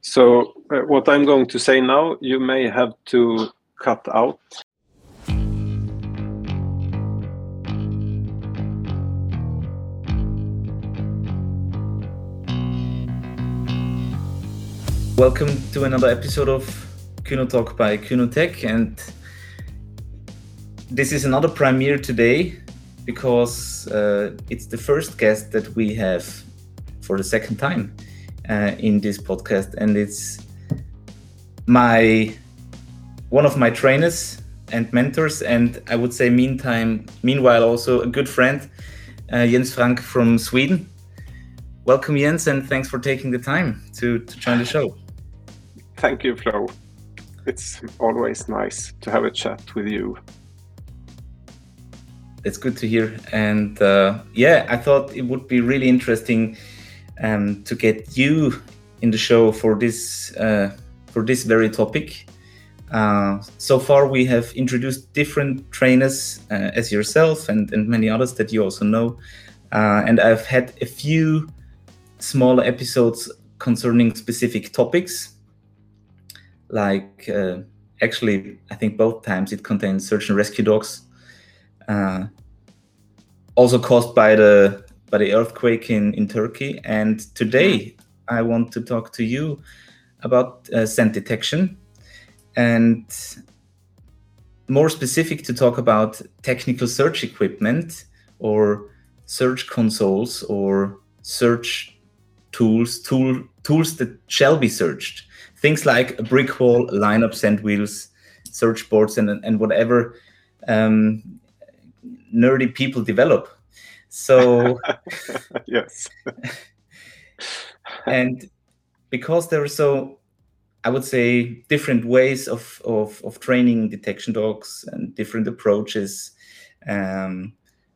So what I'm going to say now, you may have to cut out. Welcome to another episode of Kuno Talk by Kuno Tech, and this is another premiere today because it's the first guest that we have for the second time in this podcast, and it's one of my trainers and mentors, and I would say meanwhile also a good friend, Jens Frank from Sweden. Welcome, Jens, and thanks for taking the time to join the show. Thank you, Flo. It's always nice to have a chat with you. It's good to hear. And I thought it would be really interesting to get you in the show for this very topic. So far, we have introduced different trainers as yourself and many others that you also know. And I've had a few smaller episodes concerning specific topics. Like actually, I think both times it contains search and rescue dogs, also caused by the earthquake in Turkey. And today I want to talk to you about scent detection, and more specific to talk about technical search equipment or search consoles or search tools that shall be searched. Things like a brick wall, lineup, scent wheels, search boards, and whatever nerdy people develop. So yes. And because there are so, I would say, different ways of training detection dogs and different approaches, and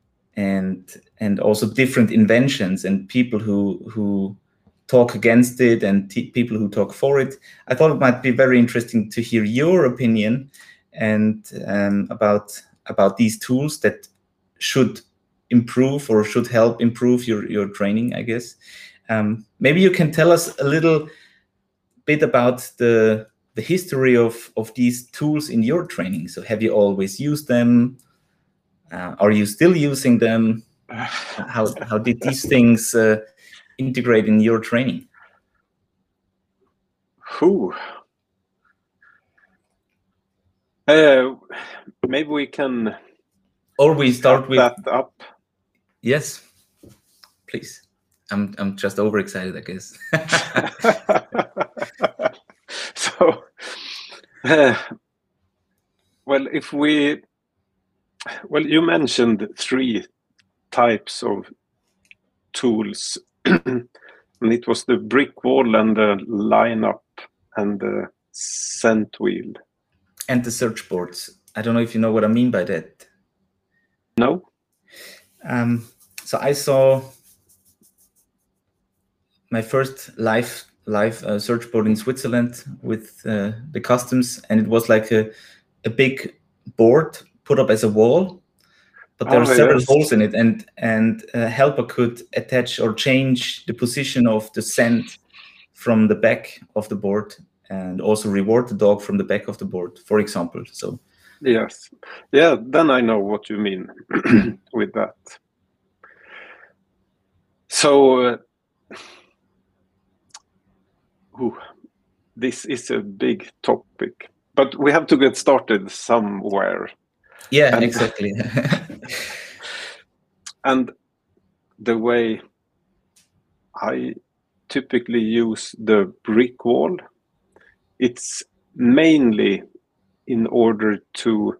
also different inventions and people who talk against it and people who talk for it, I thought it might be very interesting to hear your opinion and about these tools that should improve or should help improve your training, I guess. Maybe you can tell us a little bit about the history of these tools in your training. So have you always used them? Are you still using them? How did these things integrate in your training? Maybe we can. Or we start with that up. Yes, please. I'm just overexcited, I guess. So, you mentioned three types of tools, and it was the brick wall and the lineup and the scent wheel. And the search boards. I don't know if you know what I mean by that. No. So I saw my first live search board in Switzerland with the customs, and it was like a big board put up as a wall, but there are several holes in it, and a helper could attach or change the position of the scent from the back of the board, and also reward the dog from the back of the board, for example. So yes, yeah, then I know what you mean with that. So this is a big topic, but we have to get started somewhere. Yeah, exactly. And the way I typically use the brick wall, it's mainly in order to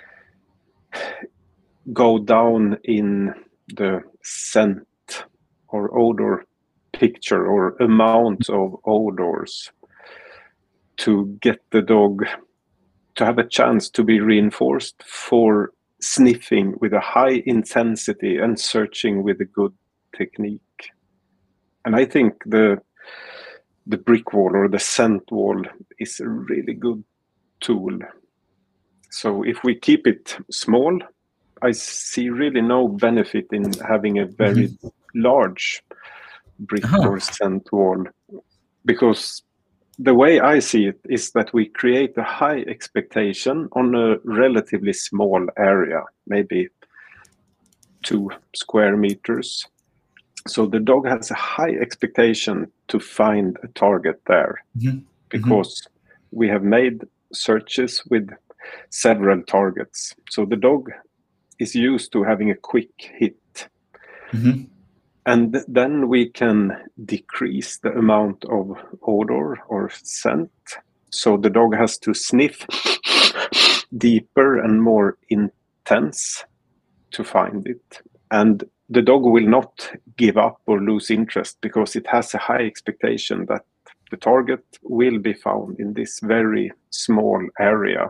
go down in the scent or odor picture or amount of odors to get the dog to have a chance to be reinforced for sniffing with a high intensity and searching with a good technique. And I think the brick wall or the scent wall is a really good tool. So if we keep it small, I see really no benefit in having a very large brick or scent wall, because the way I see it is that we create a high expectation on a relatively small area, maybe 2 square meters. So the dog has a high expectation to find a target there, because we have made searches with several targets. So the dog is used to having a quick hit. And then we can decrease the amount of odor or scent. So the dog has to sniff deeper and more intense to find it. And the dog will not give up or lose interest, because it has a high expectation that the target will be found in this very small area.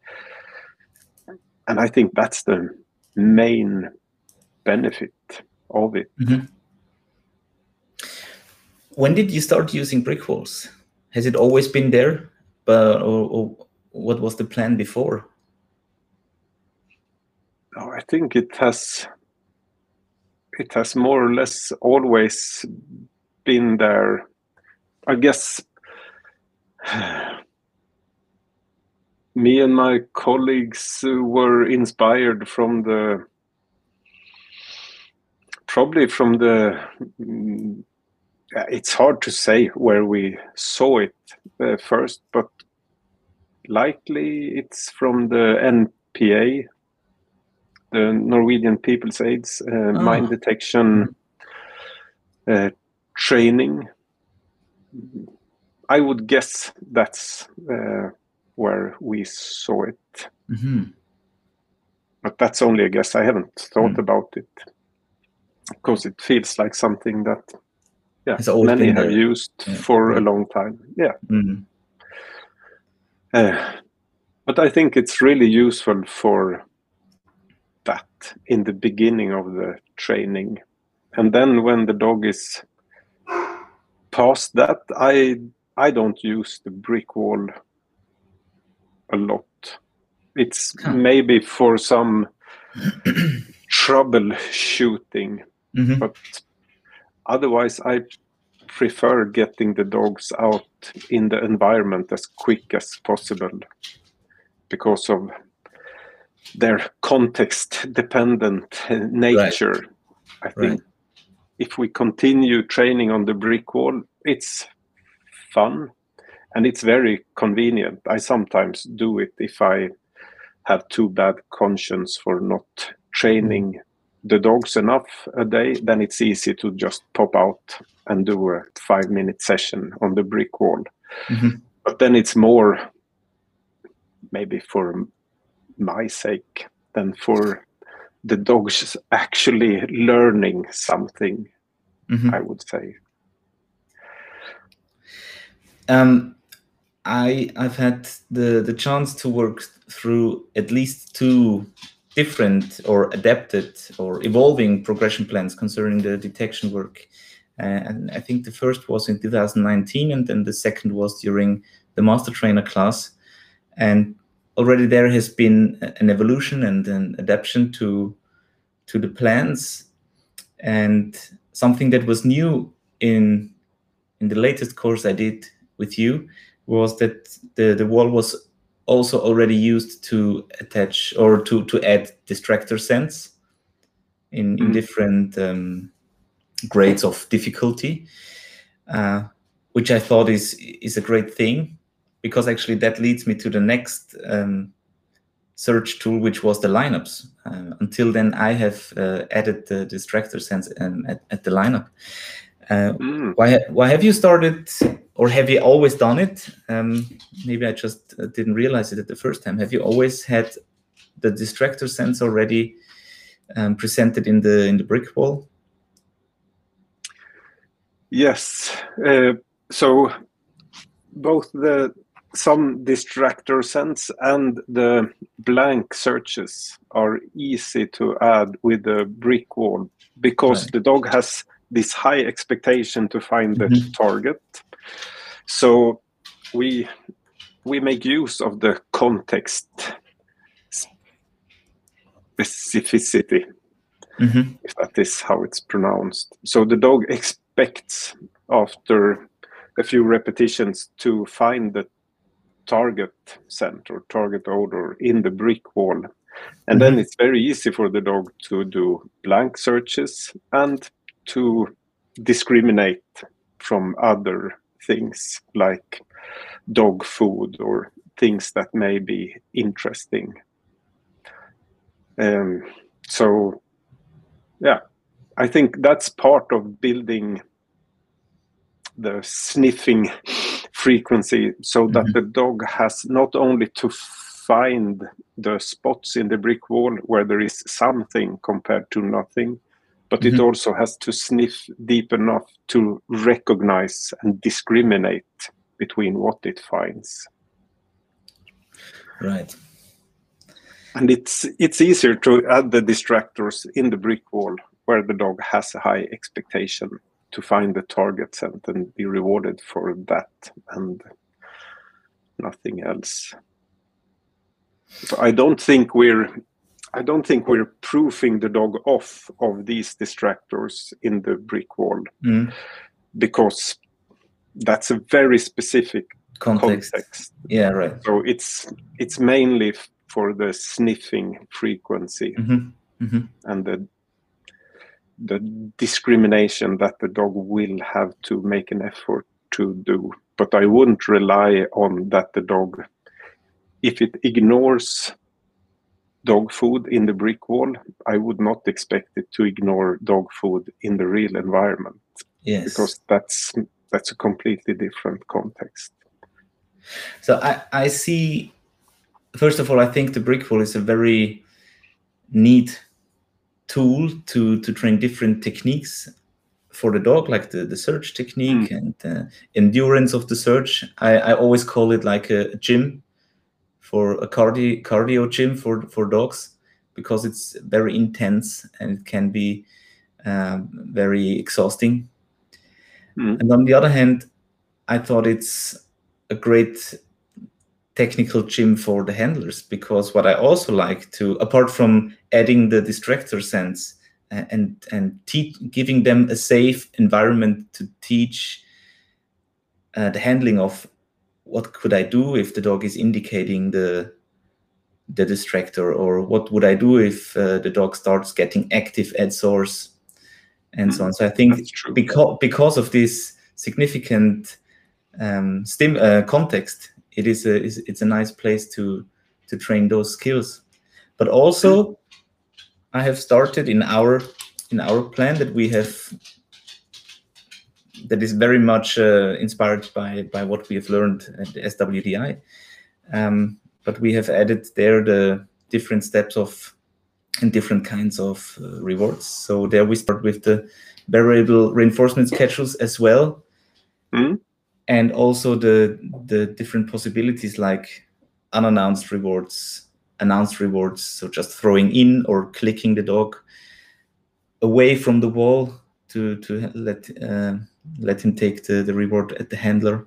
And I think that's the main benefit of it. When did you start using brick walls? Has it always been there, or what was the plan before? Oh, I think it has more or less always been there. I guess me and my colleagues were inspired probably from the it's hard to say where we saw it first, but likely it's from the NPA, the Norwegian People's Aids mine detection training. I would guess that's where we saw it. But that's only a guess. I haven't thought about it, because it feels like something that many have used for a long time. But I think it's really useful for that in the beginning of the training. And then when the dog is past that, I don't use the brick wall a lot. It's maybe for some troubleshooting, but otherwise I prefer getting the dogs out in the environment as quick as possible, because of their context-dependent nature. I think if we continue training on the brick wall, it's fun and it's very convenient. I sometimes do it if I have too bad conscience for not training the dogs enough a day. Then it's easy to just pop out and do a 5-minute session on the brick wall. But then it's more maybe for my sake than for the dogs actually learning something, I would say. I've had the chance to work through at least 2 different or adapted or evolving progression plans concerning the detection work. And I think the first was in 2019, and then the second was during the master trainer class. And already there has been an evolution and an adaptation to the plans. And something that was new in the latest course I did with you was that the wall was also already used to attach or to add distractor sense in different grades of difficulty, which I thought is a great thing, because actually that leads me to the next search tool, which was the lineups. Until then, I have added the distractor sense at the lineup. Why have you started, or have you always done it? Maybe I just didn't realize it at the first time. Have you always had the distractor sense already presented in the brick wall? Yes. So both some distractor sense and the blank searches are easy to add with the brick wall, because the dog has this high expectation to find the target. So we make use of the context specificity, if that is how it's pronounced. So the dog expects after a few repetitions to find the target scent or target odor in the brick wall. And then it's very easy for the dog to do blank searches and to discriminate from other things like dog food or things that may be interesting. So, yeah, I think that's part of building the sniffing frequency so that the dog has not only to find the spots in the brick wall where there is something compared to nothing, but it also has to sniff deep enough to recognize and discriminate between what it finds. Right. And it's easier to add the distractors in the brick wall where the dog has a high expectation to find the target scent and be rewarded for that and nothing else. So I don't think we're proofing the dog off of these distractors in the brick wall because that's a very specific context. Yeah, right. So it's mainly for the sniffing frequency and the discrimination that the dog will have to make an effort to do. But I wouldn't rely on that the dog, if it ignores dog food in the brick wall, I would not expect it to ignore dog food in the real environment. Yes. Because that's a completely different context. So I see, first of all, I think the brick wall is a very neat tool to train different techniques for the dog, like the search technique and endurance of the search. I always call it like a gym, for a cardio gym for dogs, because it's very intense and it can be very exhausting. And on the other hand, I thought it's a great technical gym for the handlers, because what I also like to, apart from adding the distractor sense and giving them a safe environment to teach the handling of what could I do if the dog is indicating the distractor, or what would I do if the dog starts getting active at source and so on. So I think because of this significant context, it's a nice place to train those skills. But also, I have started in our plan that we have, that is very much inspired by what we have learned at the SWDI. But we have added there the different steps of and different kinds of rewards. So there we start with the variable reinforcement schedules as well. And also the different possibilities like unannounced rewards, announced rewards, so just throwing in or clicking the dog away from the wall to let him take the reward at the handler.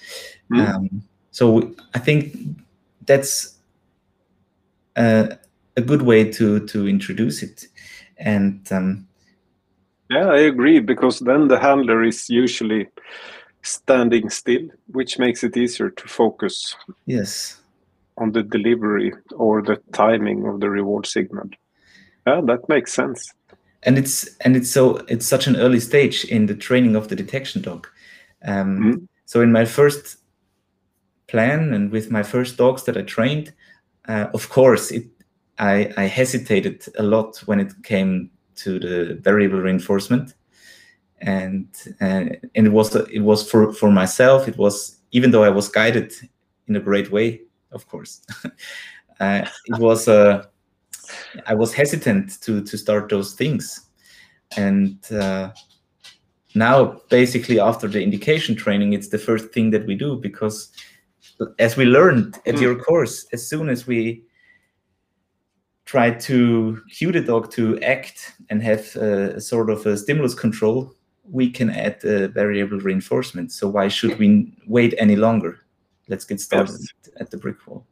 So I think that's a good way to introduce it. And yeah, I agree, because then the handler is usually standing still, which makes it easier to focus on the delivery or the timing of the reward signal. Yeah, that makes sense. And it's such an early stage in the training of the detection dog. So in my first plan and with my first dogs that I trained, of course I hesitated a lot when it came to the variable reinforcement. And it was for myself. It was, even though I was guided in a great way, of course. It was I was hesitant to start those things, and now basically after the indication training, it's the first thing that we do, because as we learned at your course, as soon as we try to cue the dog to act and have a sort of a stimulus control, we can add variable reinforcement. So why should we wait any longer? Let's get started at the brick wall.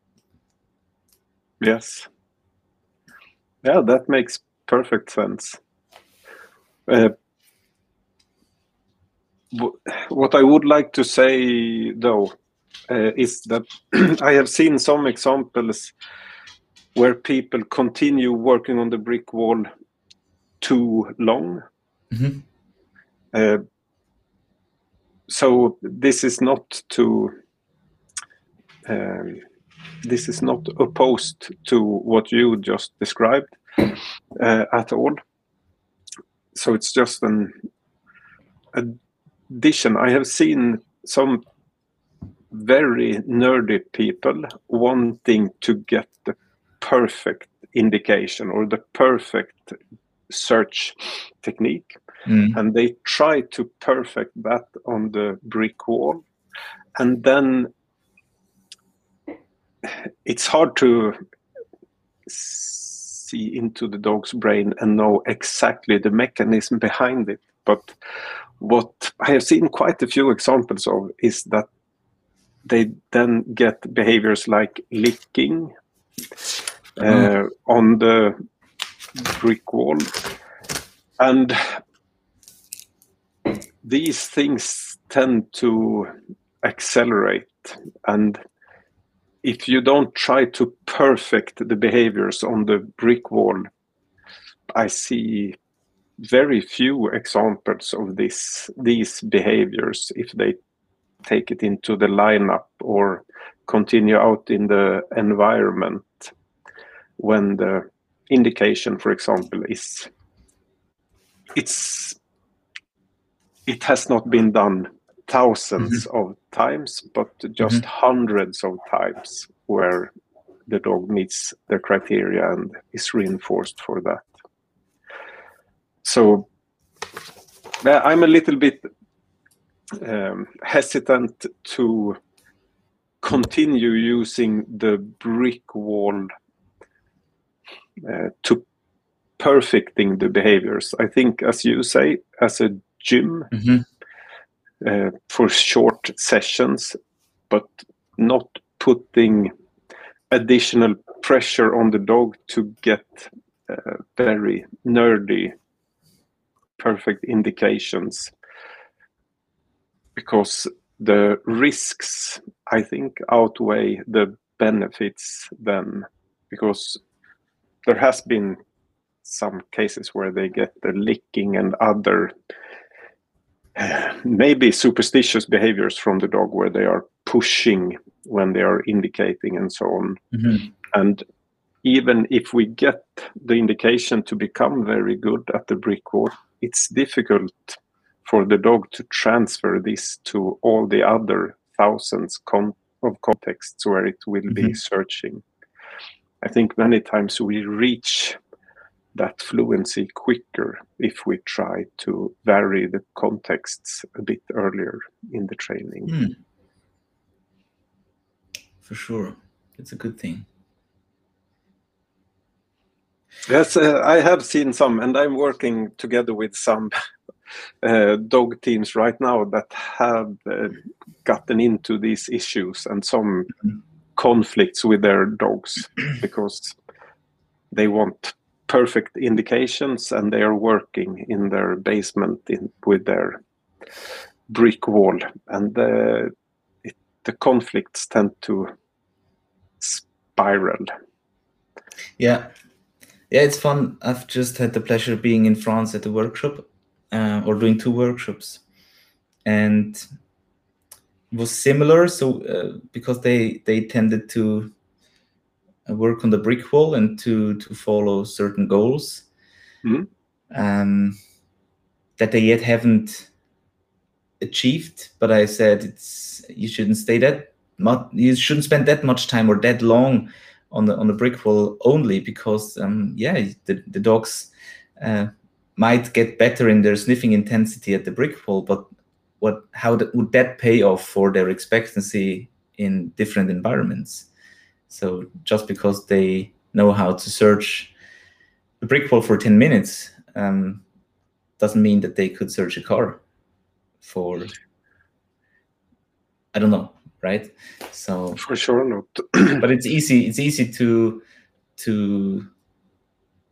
Yes. Yeah, that makes perfect sense. what I would like to say, though, is that I have seen some examples where people continue working on the brick wall too long. So this is not opposed to what you just described at all. So it's just an addition. I have seen some very nerdy people wanting to get the perfect indication or the perfect search technique, and they try to perfect that on the brick wall, and then it's hard to see into the dog's brain and know exactly the mechanism behind it. But what I have seen quite a few examples of is that they then get behaviors like licking on the brick wall. And these things tend to accelerate. And if you don't try to perfect the behaviors on the brick wall, I see very few examples of these behaviors if they take it into the lineup or continue out in the environment when the indication, for example, it has not been done thousands of times, but just hundreds of times where the dog meets the criteria and is reinforced for that. So I'm a little bit hesitant to continue using the brick wall to perfecting the behaviors. I think, as you say, as a gym for short sessions, but not putting additional pressure on the dog to get very nerdy perfect indications, because the risks, I think, outweigh the benefits then, because there has been some cases where they get the licking and other maybe superstitious behaviors from the dog where they are pushing when they are indicating and so on. And even if we get the indication to become very good at the brick wall, it's difficult for the dog to transfer this to all the other thousands of contexts where it will be searching. I think many times we reach that fluency quicker if we try to vary the contexts a bit earlier in the training. For sure. It's a good thing. Yes, I have seen some, and I'm working together with some dog teams right now that have gotten into these issues and some conflicts with their dogs because they want perfect indications and they are working in their basement with their brick wall, and the conflicts tend to spiral. Yeah, it's fun. I've just had the pleasure of being in France at a workshop or doing 2 workshops, and it was similar. So because they tended to work on the brick wall and to follow certain goals that they yet haven't achieved. But I said you shouldn't you shouldn't spend that much time or that long on the brick wall only, because the dogs might get better in their sniffing intensity at the brick wall, but how would that pay off for their expectancy in different environments? So just because they know how to search the brick wall for 10 minutes doesn't mean that they could search a car for, I don't know, right? So for sure not. But it's easy to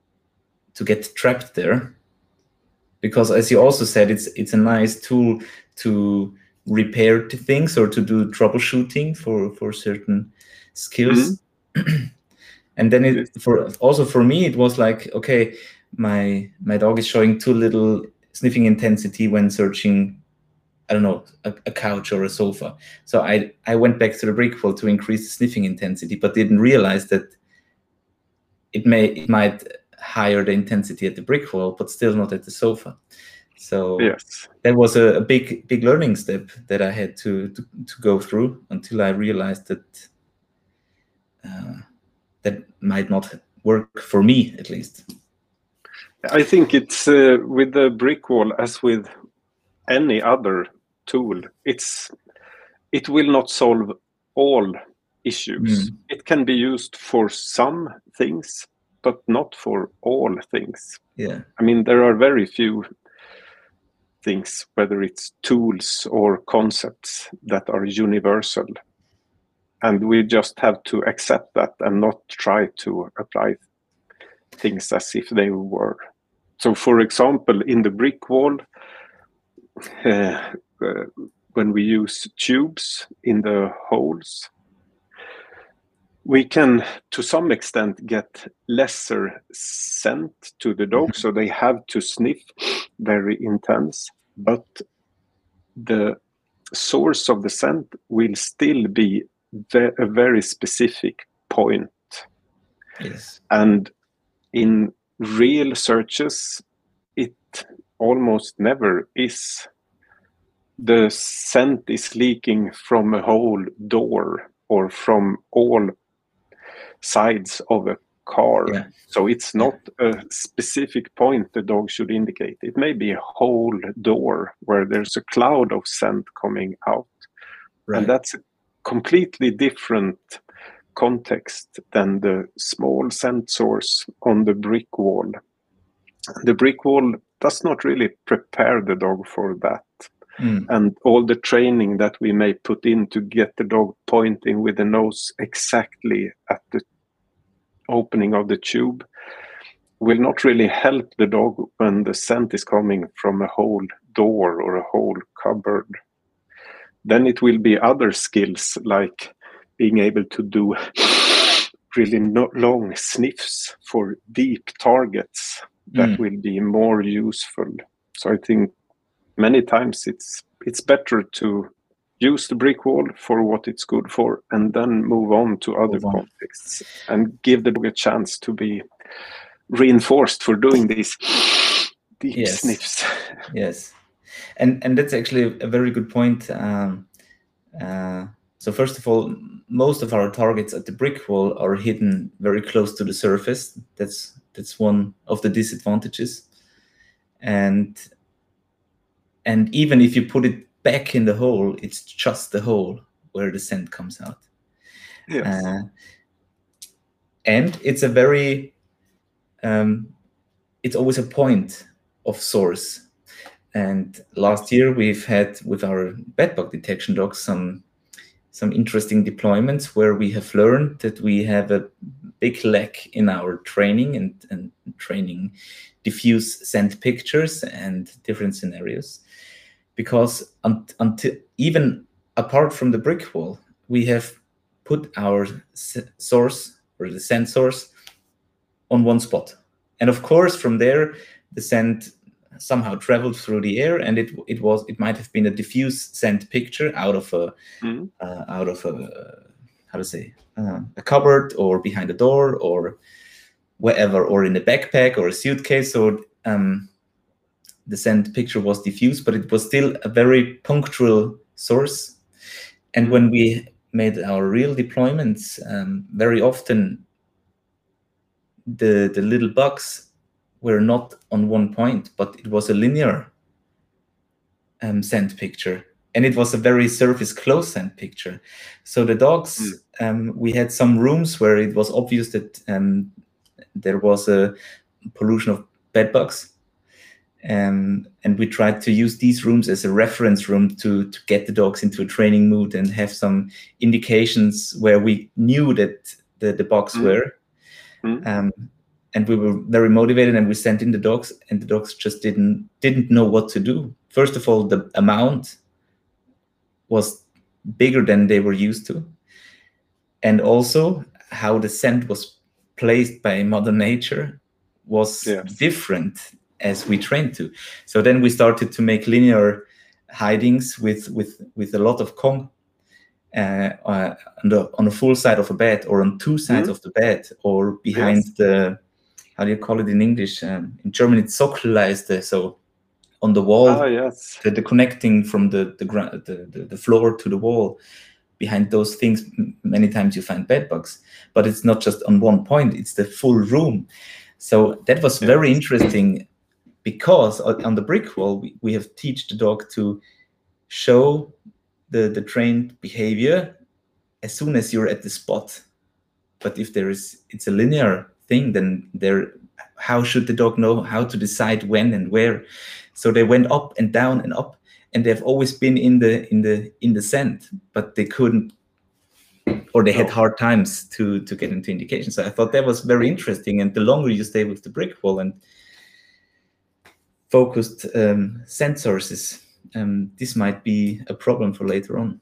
get trapped there, because as you also said, it's a nice tool to repair things or to do troubleshooting for certain skills. And then for me it was like, okay, my dog is showing too little sniffing intensity when searching, I don't know, a couch or a sofa. So I went back to the brick wall to increase the sniffing intensity, but didn't realize that it might higher the intensity at the brick wall, but still not at the sofa. So yes, that was a big learning step that I had to go through until I realized that that might not work for me, at least. I think it's with the brick wall as with any other tool. It will not solve all issues. It can be used for some things, but not for all things. Yeah. I mean, there are very few things, whether it's tools or concepts, that are universal. And we just have to accept that and not try to apply things as if they were. So, for example, in the brick wall, when we use tubes in the holes, we can, to some extent, get lesser scent to the dog, so they have to sniff very intense, but the source of the scent will still be a very specific point. Yes. And in real searches, it almost never is. The scent is leaking from a whole door or from all sides of a car. Yeah. So it's not a specific point the dog should indicate. It may be a whole door where there's a cloud of scent coming out. Right. And that's a completely different context than the small scent source on the brick wall. The brick wall does not really prepare the dog for that. And all the training that we may put in to get the dog pointing with the nose exactly at the opening of the tube will not really help the dog when the scent is coming from a whole door or a whole cupboard. Then it will be other skills like being able to do really long sniffs for deep targets that will be more useful. So I think many times it's better to use the brick wall for what it's good for and then move on to other contexts and give the dog a chance to be reinforced for doing these deep sniffs. Yes. And that's actually a very good point. So first of all, most of our targets at the brick wall are hidden very close to the surface. That's one of the disadvantages. And even if you put it back in the hole, it's just the hole where the scent comes out. Yes. And it's a very, it's always a point of source. And last year we've had with our bedbug detection dogs some interesting deployments where we have learned that we have a big lack in our training and training diffuse scent pictures and different scenarios. Because until even apart from the brick wall, we have put our source or the scent source on one spot. And of course, from there, the scent somehow traveled through the air, and it might have been a diffuse scent picture out of a a cupboard or behind a door or wherever, or in a backpack or a suitcase. So the scent picture was diffuse, but it was still a very punctual source. And when we made our real deployments, very often the little bugs were not on one point, but it was a linear scent picture. And it was a very surface close scent picture. So the dogs, we had some rooms where it was obvious that there was a pollution of bed bugs. And we tried to use these rooms as a reference room to get the dogs into a training mood and have some indications where we knew that the bugs were. And we were very motivated, and we sent in the dogs, and the dogs just didn't know what to do. First of all, the amount was bigger than they were used to, and also how the scent was placed by Mother Nature was different as we trained to. So then we started to make linear hidings with a lot of Kong on a full side of a bed, or on two sides of the bed, or behind the, how do you call it in English? In German, it's Sockelleiste. So on the wall, the connecting from the floor to the wall. Behind those things, many times you find bed bugs, but it's not just on one point, it's the full room. So that was very interesting, because on the brick wall, we have teach the dog to show the trained behavior as soon as you're at the spot. But if it's a linear thing, then how should the dog know how to decide when and where? So they went up and down and up, and they've always been in the scent, but they couldn't, or they had hard times to get into indication. So I thought that was very interesting. And the longer you stay with the brick wall and focused scent sources, this might be a problem for later on.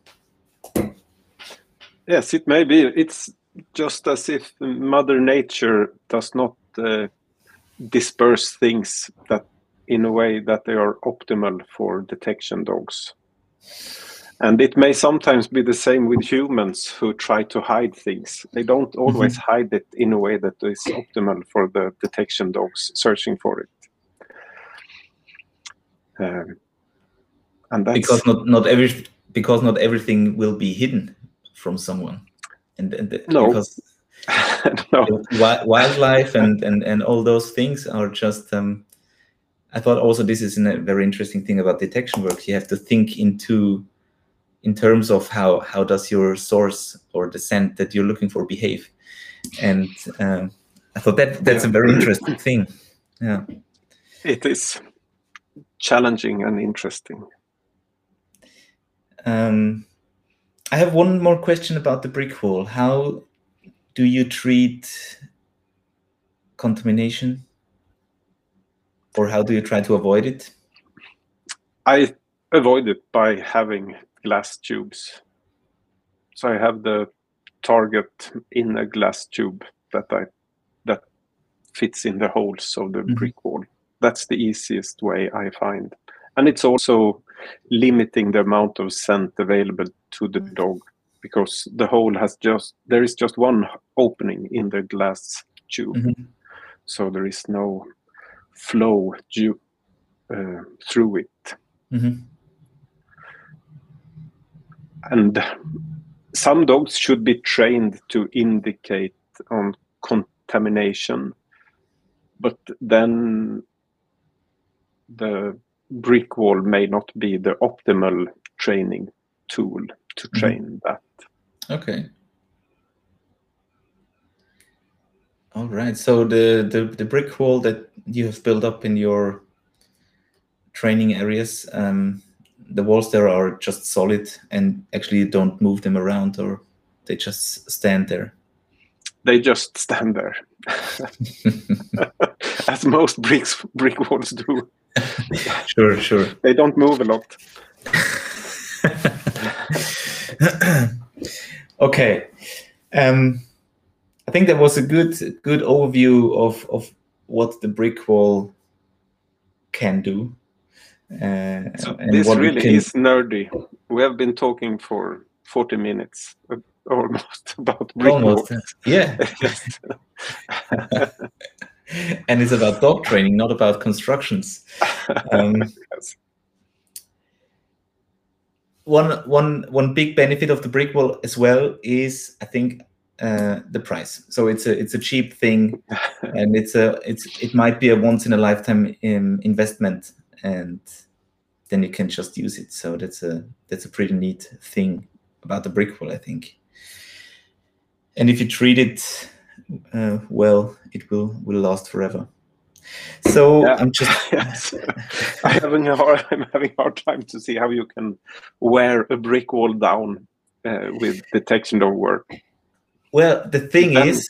Yes, it may be. It's just as if Mother Nature does not disperse things that in a way that they are optimal for detection dogs. And it may sometimes be the same with humans who try to hide things. They don't always hide it in a way that is optimal for the detection dogs searching for it. And that's because not everything will be hidden from someone, because wildlife and all those things are just. I thought also this is a very interesting thing about detection work. You have to think in terms of how does your source or the scent that you're looking for behave, and I thought that's a very interesting thing. Yeah, it is challenging and interesting. I have one more question about the brick wall. How do you treat contamination, or how do you try to avoid it? I avoid it by having glass tubes. So I have the target in a glass tube that fits in the holes of the brick wall. That's the easiest way I find. And it's also limiting the amount of scent available to the dog, because the hole there is just one opening in the glass tube. So there is no flow through it. And some dogs should be trained to indicate on contamination, but then the brick wall may not be the optimal training tool to train that. Okay. All right. So the brick wall that you have built up in your training areas, the walls there are just solid, and actually you don't move them around, or they just stand there? They just stand there, as most brick walls do. Sure. They don't move a lot. Okay. I think that was a good overview of what the brick wall can do. So this really is nerdy. We have been talking for 40 minutes almost about brick walls. Yeah. And it's about dog training, not about constructions. Yes. One big benefit of the brick wall as well is, I think, the price. So it's a cheap thing, and it might be a once in a lifetime investment, and then you can just use it. So that's a pretty neat thing about the brick wall, I think. And if you treat it well, it will last forever. So yeah. I'm just yes. I'm having a hard time to see how you can wear a brick wall down with detection dog work. Well, the thing is,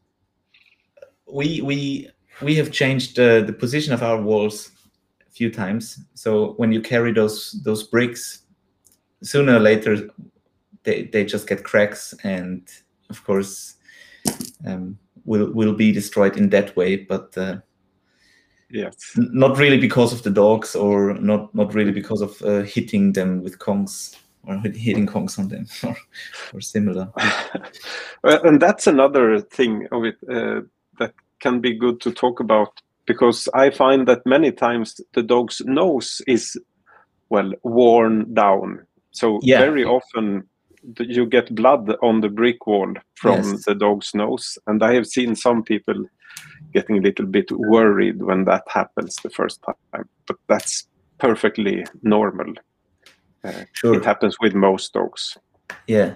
we have changed the position of our walls a few times. So when you carry those bricks sooner or later they just get cracks, and of course will be destroyed in that way. But yes, not really because of the dogs, or not really because of hitting them with kongs, or hitting kongs on them, or similar. And that's another thing of it that can be good to talk about, because I find that many times the dog's nose is, well, worn down. So very often you get blood on the brick wall from the dog's nose. And I have seen some people getting a little bit worried when that happens the first time. But that's perfectly normal. Sure. It happens with most dogs. Yeah.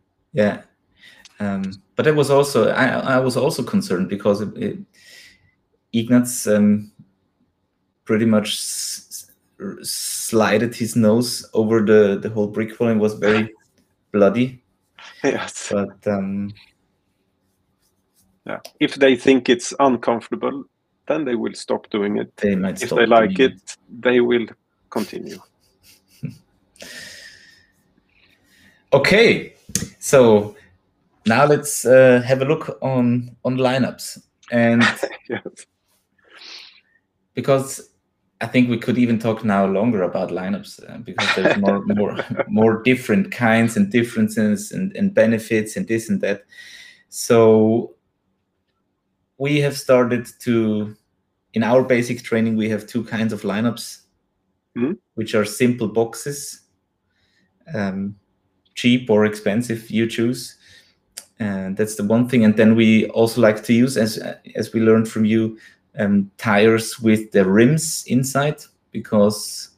But I was also concerned because Ignaz pretty much slided his nose over the whole brick wall and was very bloody. Yes. But yeah, if they think it's uncomfortable, then they will stop doing it. They might if stop they like it, they will continue. Okay, so now let's have a look on lineups, and yes. Because I think we could even talk now longer about lineups because there's more different kinds and differences and benefits and this and that. So we have started to, in our basic training, we have two kinds of lineups, which are simple boxes, cheap or expensive, you choose. And that's the one thing. And then we also like to use, as we learned from you, tires with the rims inside, because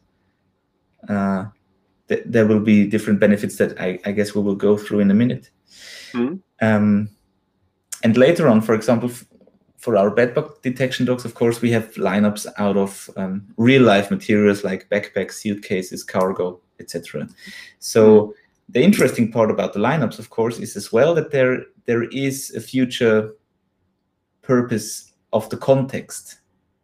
there will be different benefits that I guess we will go through in a minute. And later on, for example, for our bedbug detection dogs, of course, we have lineups out of real-life materials like backpacks, suitcases, cargo, etc. So the interesting part about the lineups, of course, is as well that there is a future purpose of the context.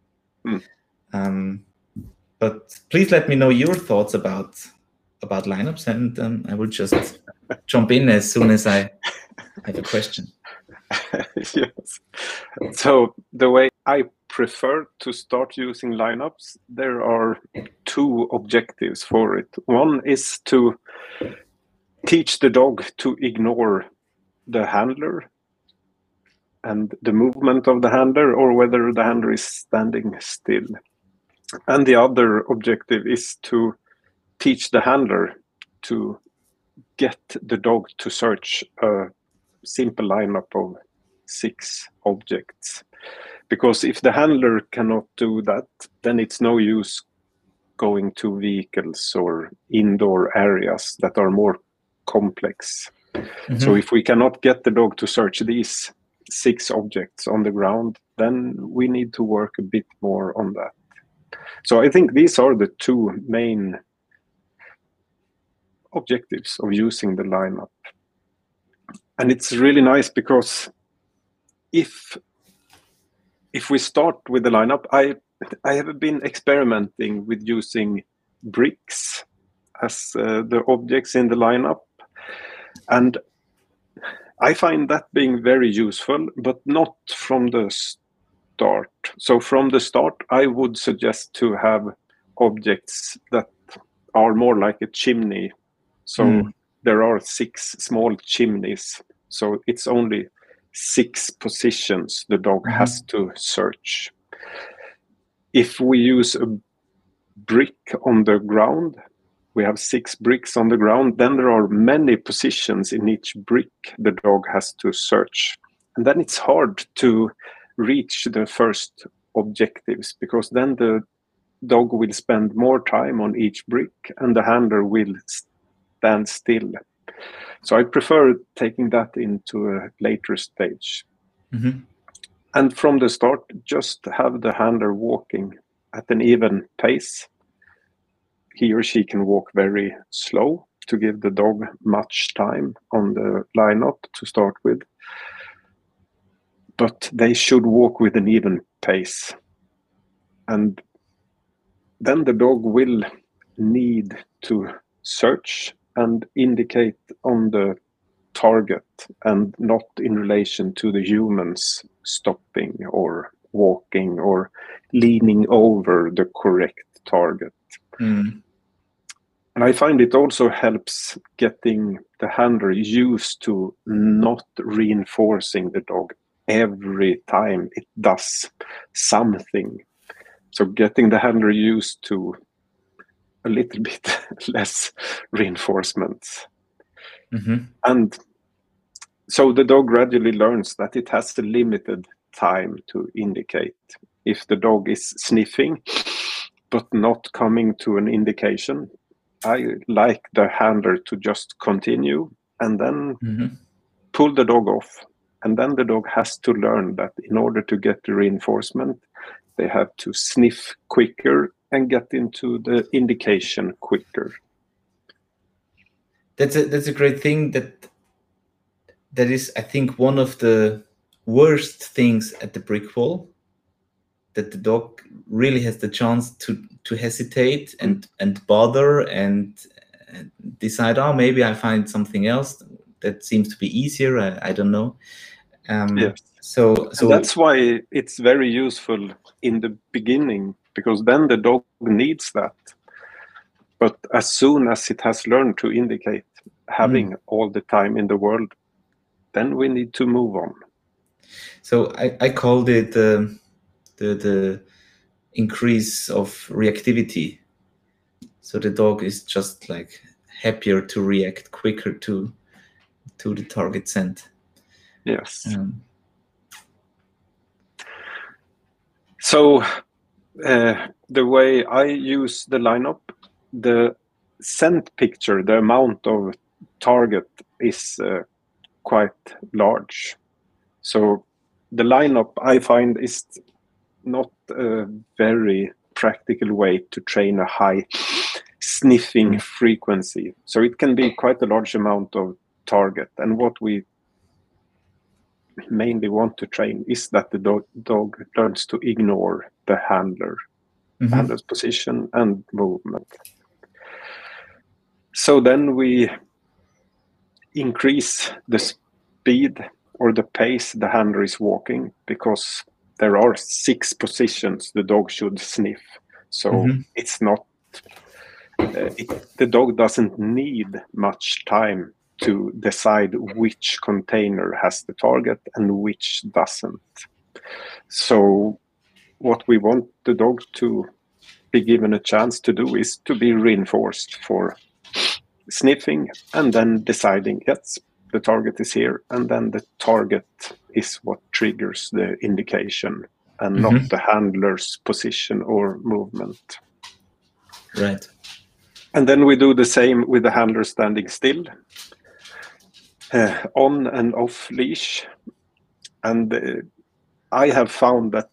But please let me know your thoughts about lineups, and I will just jump in as soon as I have a question. Yes. So the way I prefer to start using lineups, there are two objectives for it. One is to teach the dog to ignore the handler and the movement of the handler, or whether the handler is standing still. And the other objective is to teach the handler to get the dog to search a simple lineup of 6 objects. Because if the handler cannot do that, then it's no use going to vehicles or indoor areas that are more complex. So if we cannot get the dog to search these 6 objects on the ground, then we need to work a bit more on that. So I think these are the two main objectives of using the lineup. And it's really nice because if we start with the lineup, I have been experimenting with using bricks as the objects in the lineup. And I find that being very useful, but not from the start. So from the start, I would suggest to have objects that are more like a chimney. So there are 6 small chimneys. So it's only 6 positions the dog has to search. If we use a brick on the ground, we have 6 bricks on the ground, then there are many positions in each brick the dog has to search. And then it's hard to reach the first objectives, because then the dog will spend more time on each brick and the handler will stand still. So I prefer taking that into a later stage. And from the start, just have the handler walking at an even pace. He or she can walk very slow to give the dog much time on the lineup to start with. But they should walk with an even pace. And then the dog will need to search and indicate on the target and not in relation to the humans stopping or walking or leaning over the correct target. Mm. And I find it also helps getting the handler used to not reinforcing the dog every time it does something. So getting the handler used to a little bit less reinforcements. Mm-hmm. And so the dog gradually learns that it has a limited time to indicate. If the dog is sniffing but not coming to an indication, I like the handler to just continue and then pull the dog off. And then the dog has to learn that in order to get the reinforcement, they have to sniff quicker and get into the indication quicker. That's a great thing. That is, I think, one of the worst things at the brick wall, that the dog really has the chance to hesitate and bother and decide, oh, maybe I find something else that seems to be easier. I don't know. Yes. So and that's why it's very useful in the beginning, because then the dog needs that. But as soon as it has learned to indicate, having all the time in the world, then we need to move on. So I called it the increase of reactivity. So the dog is just like happier to react quicker to the target scent. Yes. So the way I use the lineup, the scent picture, the amount of target is quite large. So the lineup, I find, is not a very practical way to train a high sniffing frequency. So it can be quite a large amount of target. And what we mainly want to train is that the dog learns to ignore the handler's position and movement. So then we increase the speed or the pace the handler is walking, because there are 6 positions the dog should sniff. So it's not, the dog doesn't need much time to decide which container has the target and which doesn't. So what we want the dog to be given a chance to do is to be reinforced for sniffing and then deciding, yes, the target is here, and then the target is what triggers the indication and not the handler's position or movement. Right. And then we do the same with the handler standing still, on and off leash. And I have found that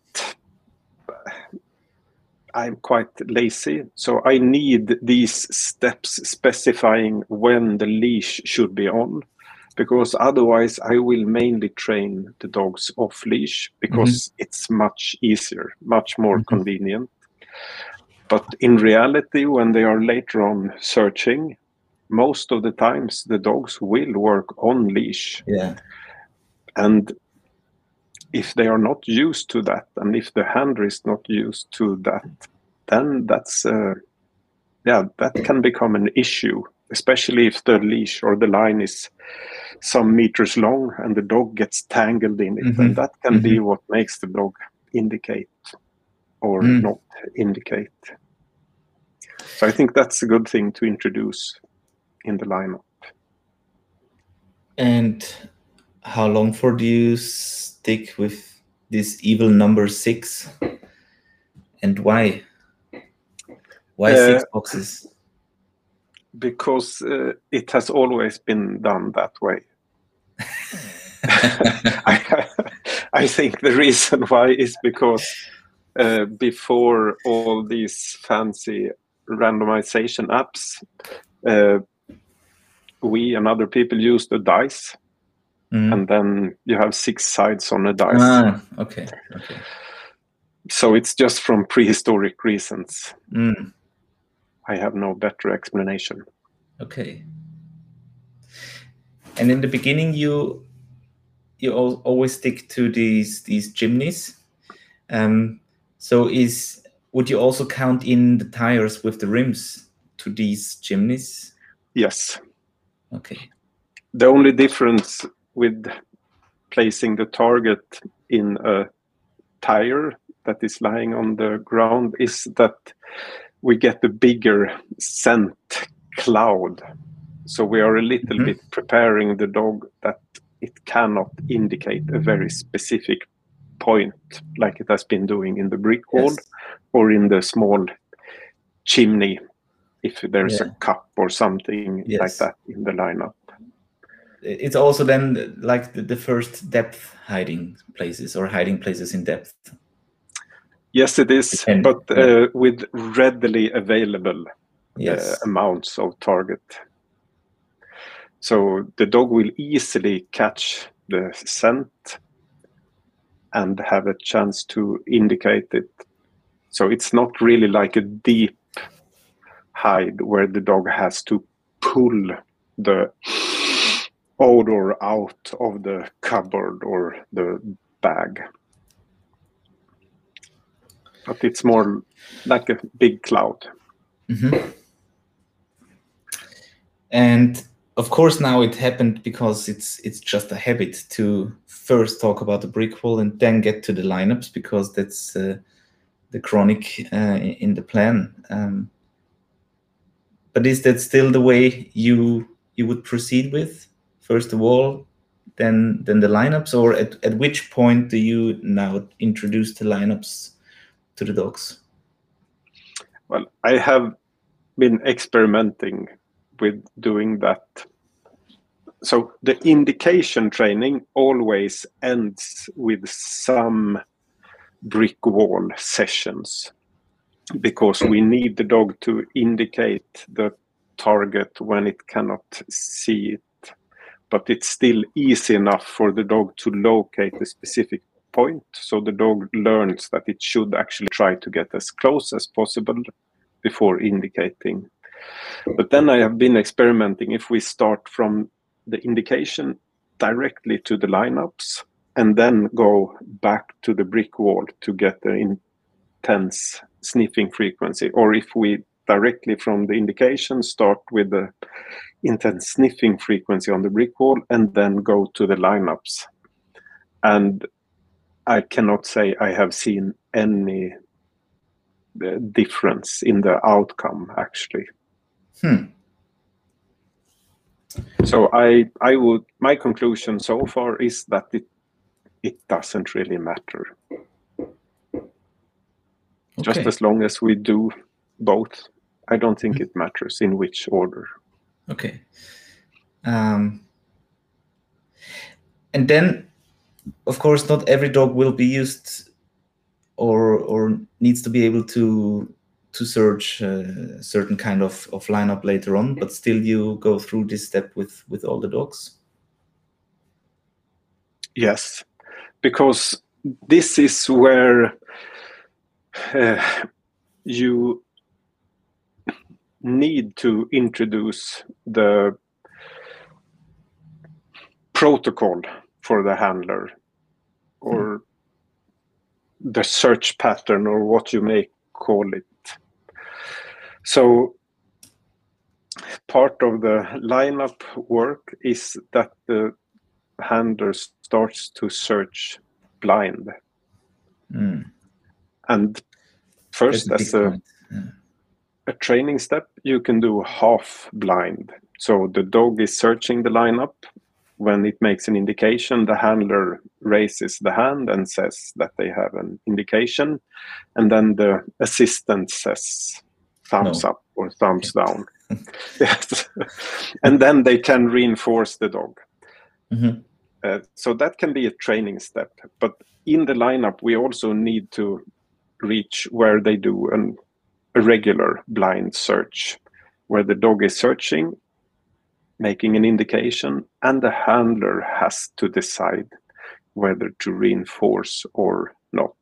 I'm quite lazy, so I need these steps specifying when the leash should be on, because otherwise I will mainly train the dogs off leash, because it's much easier, much more convenient. But in reality, when they are later on searching, most of the times the dogs will work on leash. Yeah. And if they are not used to that, and if the handler is not used to that, then that's that can become an issue, especially if the leash or the line is some meters long and the dog gets tangled in it. And that can be what makes the dog indicate or not indicate. So I think that's a good thing to introduce in the lineup. And how long for do you stick with this evil number 6? And why? Why 6 boxes? Because it has always been done that way. I think the reason why is because before all these fancy randomization apps, we and other people used a dice, and then you have 6 sides on a dice. Okay. So it's just from prehistoric reasons. I have no better explanation. Okay. And in the beginning, you always stick to these chimneys. So would you also count in the tires with the rims to these chimneys? Yes. Okay. The only difference with placing the target in a tire that is lying on the ground is that we get a bigger scent cloud. So we are a little bit preparing the dog that it cannot indicate a very specific point like it has been doing in the brick wall or in the small chimney if there's a cup or something like that in the lineup. It's also then like the first depth hiding places or hiding places in depth. Yes, it is, but with readily available amounts of target. So the dog will easily catch the scent and have a chance to indicate it. So it's not really like a deep hide where the dog has to pull the odor out of the cupboard or the bag. But it's more like a big cloud. And of course, now it happened because it's just a habit to first talk about the brick wall and then get to the lineups, because that's the chronic in the plan. But is that still the way you would proceed with? First of all, then the lineups, or at which point do you now introduce the lineups to the dogs? Well, I have been experimenting with doing that. So the indication training always ends with some brick wall sessions because we need the dog to indicate the target when it cannot see it. But it's still easy enough for the dog to locate a specific point. So the dog learns that it should actually try to get as close as possible before indicating. But then I have been experimenting if we start from the indication directly to the lineups and then go back to the brick wall to get the intense sniffing frequency, or if we directly from the indication start with the intense sniffing frequency on the brick wall and then go to the lineups. And I cannot say I have seen any difference in the outcome actually. So my conclusion so far is that it doesn't really matter. Just as long as we do both, I don't think it matters in which order. Okay. And then, of course, not every dog will be used or needs to be able to search a certain kind of lineup later on, but still you go through this step with all the dogs? Yes, because this is where you need to introduce the protocol for the handler or the search pattern or what you may call it. So part of the lineup work is that the handler starts to search blind. And first, as a training step, you can do half blind. So the dog is searching the lineup. When it makes an indication, the handler raises the hand and says that they have an indication. And then the assistant says thumbs up or thumbs down. Yes. And then they can reinforce the dog. So that can be a training step. But in the lineup, we also need to reach where they do a regular blind search, where the dog is searching, making an indication, and the handler has to decide whether to reinforce or not.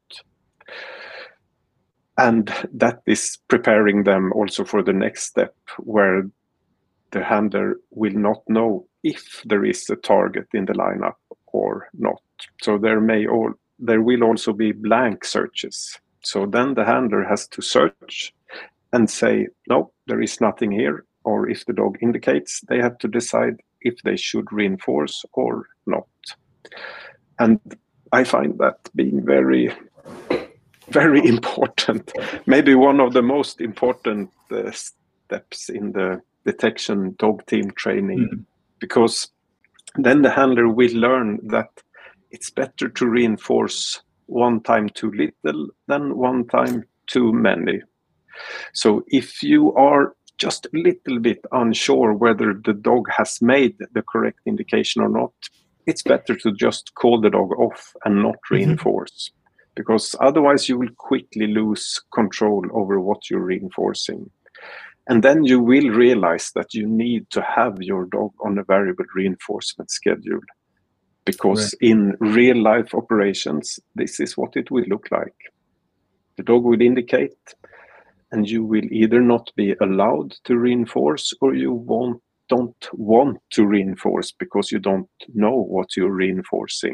And that is preparing them also for the next step, where the handler will not know if there is a target in the lineup or not. So there will also be blank searches. So then the handler has to search and say, no, there is nothing here. Or if the dog indicates, they have to decide if they should reinforce or not. And I find that being very, very important. Maybe one of the most important steps in the detection dog team training, because then the handler will learn that it's better to reinforce one time too little than one time too many. So if you are just a little bit unsure whether the dog has made the correct indication or not, it's better to just call the dog off and not reinforce, because otherwise you will quickly lose control over what you're reinforcing. And then you will realize that you need to have your dog on a variable reinforcement schedule, because in real life operations, this is what it will look like. The dog will indicate, and you will either not be allowed to reinforce, or you don't want to reinforce because you don't know what you're reinforcing.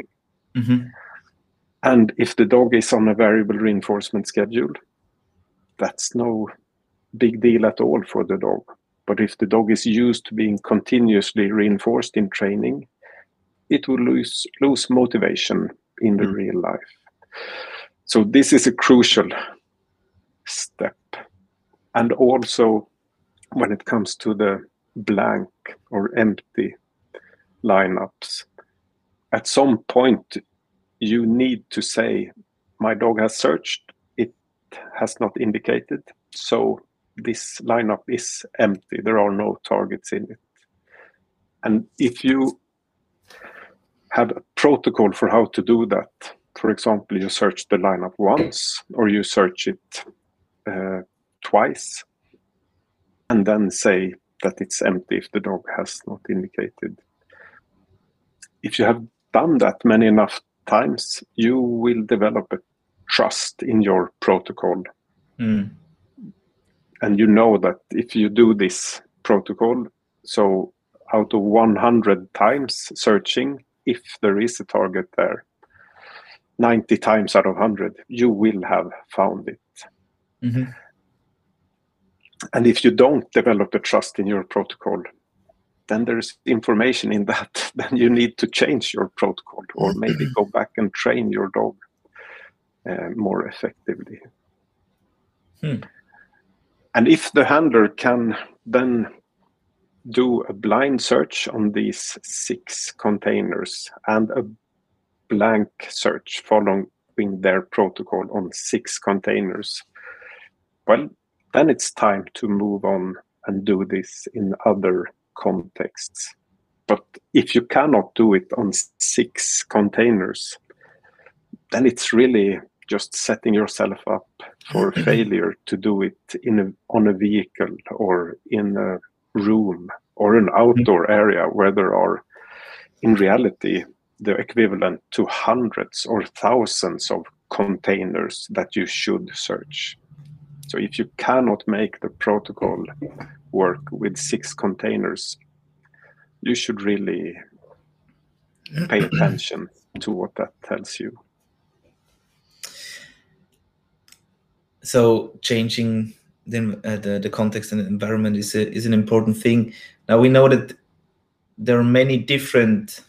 And if the dog is on a variable reinforcement schedule, that's no big deal at all for the dog. But if the dog is used to being continuously reinforced in training, it will lose motivation in the real life. So this is a crucial step. And also when it comes to the blank or empty lineups, at some point you need to say, my dog has searched, it has not indicated, so this lineup is empty, there are no targets in it. And if you have a protocol for how to do that, for example, you search the lineup once, or you search it twice, and then say that it's empty if the dog has not indicated. If you have done that many enough times, you will develop a trust in your protocol. And you know that if you do this protocol, so out of 100 times searching, if there is a target there, 90 times out of 100, you will have found it. And if you don't develop a trust in your protocol, then there's information in that. Then you need to change your protocol, or maybe go back and train your dog more effectively. And if the handler can then do a blind search on these 6 containers and a blank search following their protocol on 6 containers, well, then it's time to move on and do this in other contexts. But if you cannot do it on 6 containers, then it's really just setting yourself up for failure to do it on a vehicle or in a room or an outdoor area where there are, in reality, the equivalent to hundreds or thousands of containers that you should search. So if you cannot make the protocol work with 6 containers, you should really pay attention to what that tells you. So changing the context and the environment is an important thing. Now we know that there are many different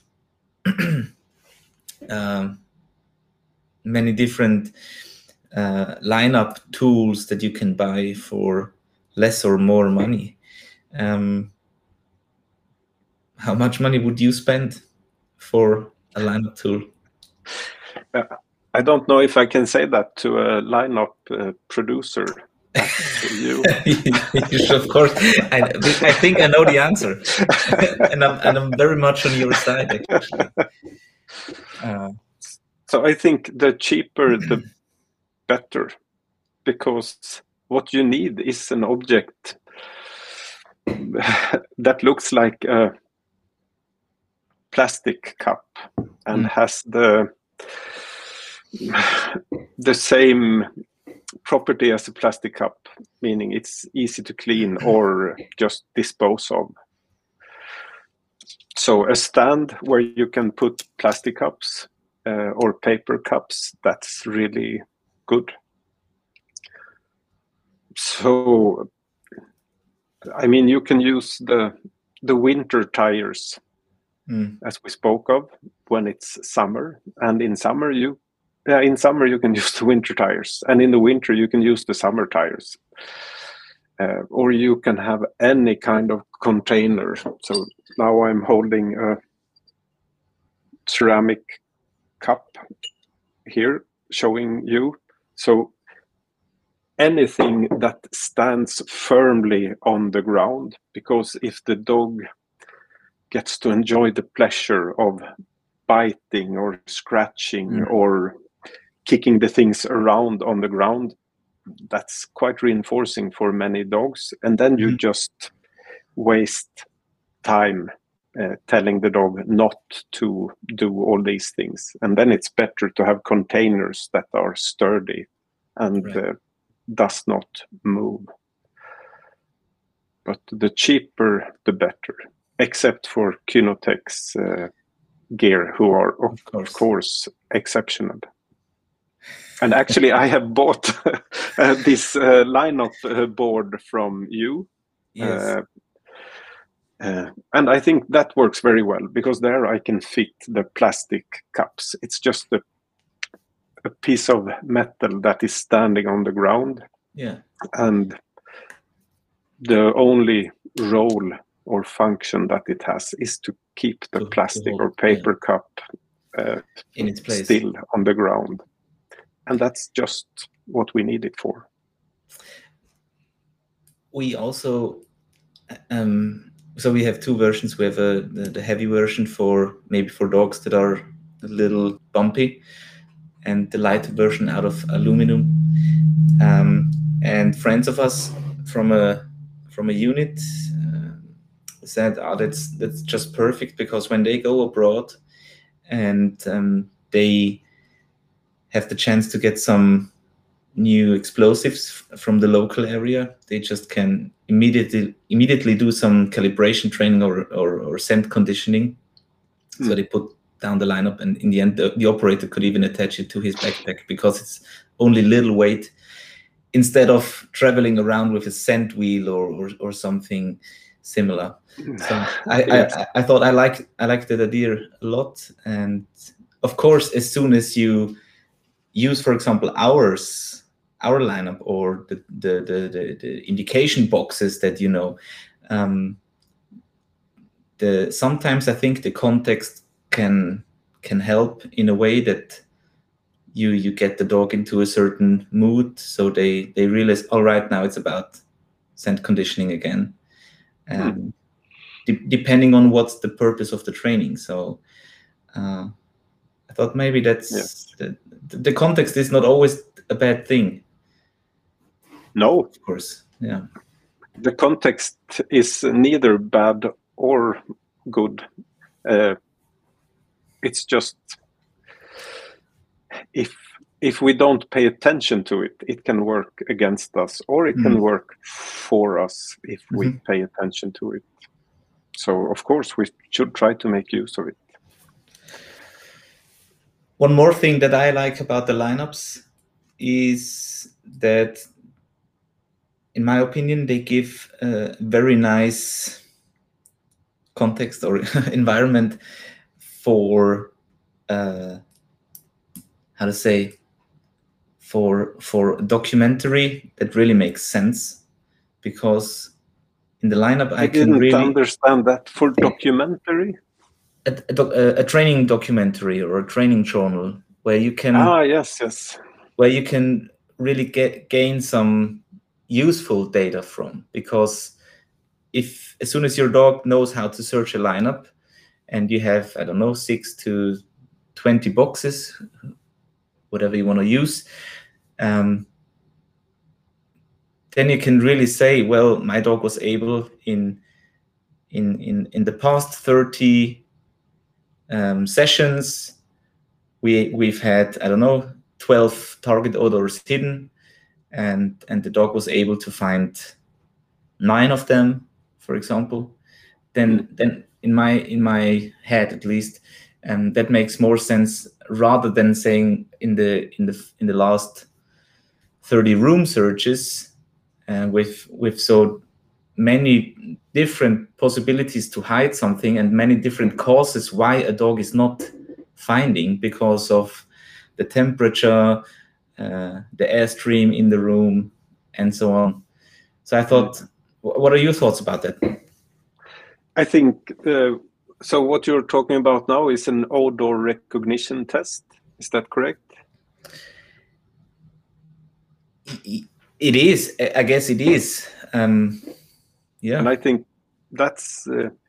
lineup tools that you can buy for less or more money. How much money would you spend for a lineup tool? I don't know if I can say that to a lineup producer. You. Of course, I think I know the answer, and I'm very much on your side, actually. So I think the cheaper, the better, because what you need is an object that looks like a plastic cup and has the same property as a plastic cup, meaning it's easy to clean or just dispose of. So a stand where you can put plastic cups or paper cups, that's really good. So, I mean, you can use the winter tires, as we spoke of, when it's summer. And in summer, you can use the winter tires, and in the winter you can use the summer tires. Or you can have any kind of container. So now I'm holding a ceramic cup here, showing you. So anything that stands firmly on the ground, because if the dog gets to enjoy the pleasure of biting or scratching or kicking the things around on the ground, that's quite reinforcing for many dogs. And then you just waste time telling the dog not to do all these things. And then it's better to have containers that are sturdy and does not move. But the cheaper, the better, except for Kynotech's gear, who are, of course, exceptional. And actually, I have bought this lineup board from you. Yes. And I think that works very well, because there I can fit the plastic cups. It's just a piece of metal that is standing on the ground. Yeah. And the only role or function that it has is to keep the plastic or paper cup in its place, still on the ground. And that's just what we need it for. We also, so we have two versions. We have the heavy version for dogs that are a little bumpy, and the lighter version out of aluminum. And friends of us from a unit said, that's just perfect, because when they go abroad and they have the chance to get some new explosives from the local area, they just can immediately do some calibration training or scent conditioning. So they put down the lineup, and in the end the operator could even attach it to his backpack, because it's only little weight, instead of traveling around with a scent wheel or something similar. So I thought I liked that idea a lot. And of course, as soon as you use, for example, our lineup or the indication boxes that sometimes I think the context can help in a way that you get the dog into a certain mood, so they realize, all right, now it's about scent conditioning again, depending on what's the purpose of the training. So I thought maybe that's the context is not always a bad thing. No, of course, yeah. The context is neither bad or good. It's just if we don't pay attention to it, it can work against us, or it can work for us if we pay attention to it. So, of course, we should try to make use of it. One more thing that I like about the lineups is that, in my opinion, they give a very nice context or environment for for documentary that really makes sense, because in the lineup I can really understand that. For documentary, a training documentary or a training journal where you can where you can really gain some useful data from, because as soon as your dog knows how to search a lineup and you have, I don't know, 6 to 20 boxes, whatever you want to use, then you can really say, well, my dog was able in the past 30 sessions, we've had, I don't know, 12 target odors hidden, and the dog was able to find 9 of them, for example. Then in my head at least, that makes more sense rather than saying in the last 30 room searches with so many different possibilities to hide something and many different causes why a dog is not finding, because of the temperature, the airstream in the room, and so on. So I thought, what are your thoughts about that? I think, so what you're talking about now is an odor recognition test. Is that correct? It is. I guess it is. Yeah. And I think that's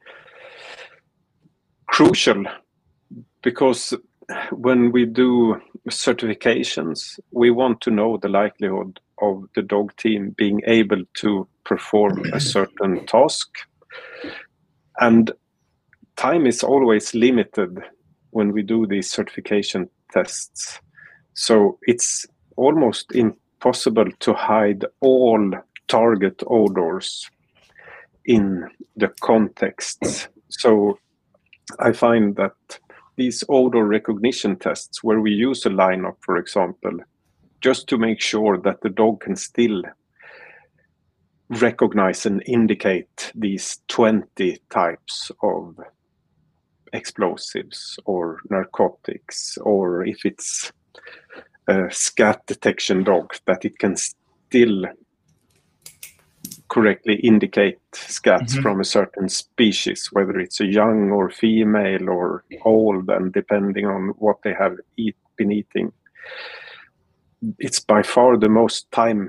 crucial, because when we do certifications, we want to know the likelihood of the dog team being able to perform a certain task. And time is always limited when we do these certification tests. So it's almost impossible to hide all target odors in the contexts. So I find that these odor recognition tests, where we use a lineup, for example, just to make sure that the dog can still recognize and indicate these 20 types of explosives or narcotics, or if it's a scat detection dog, that it can still correctly indicate scats from a certain species, whether it's a young or female or old, and depending on what they have been eating. It's by far the most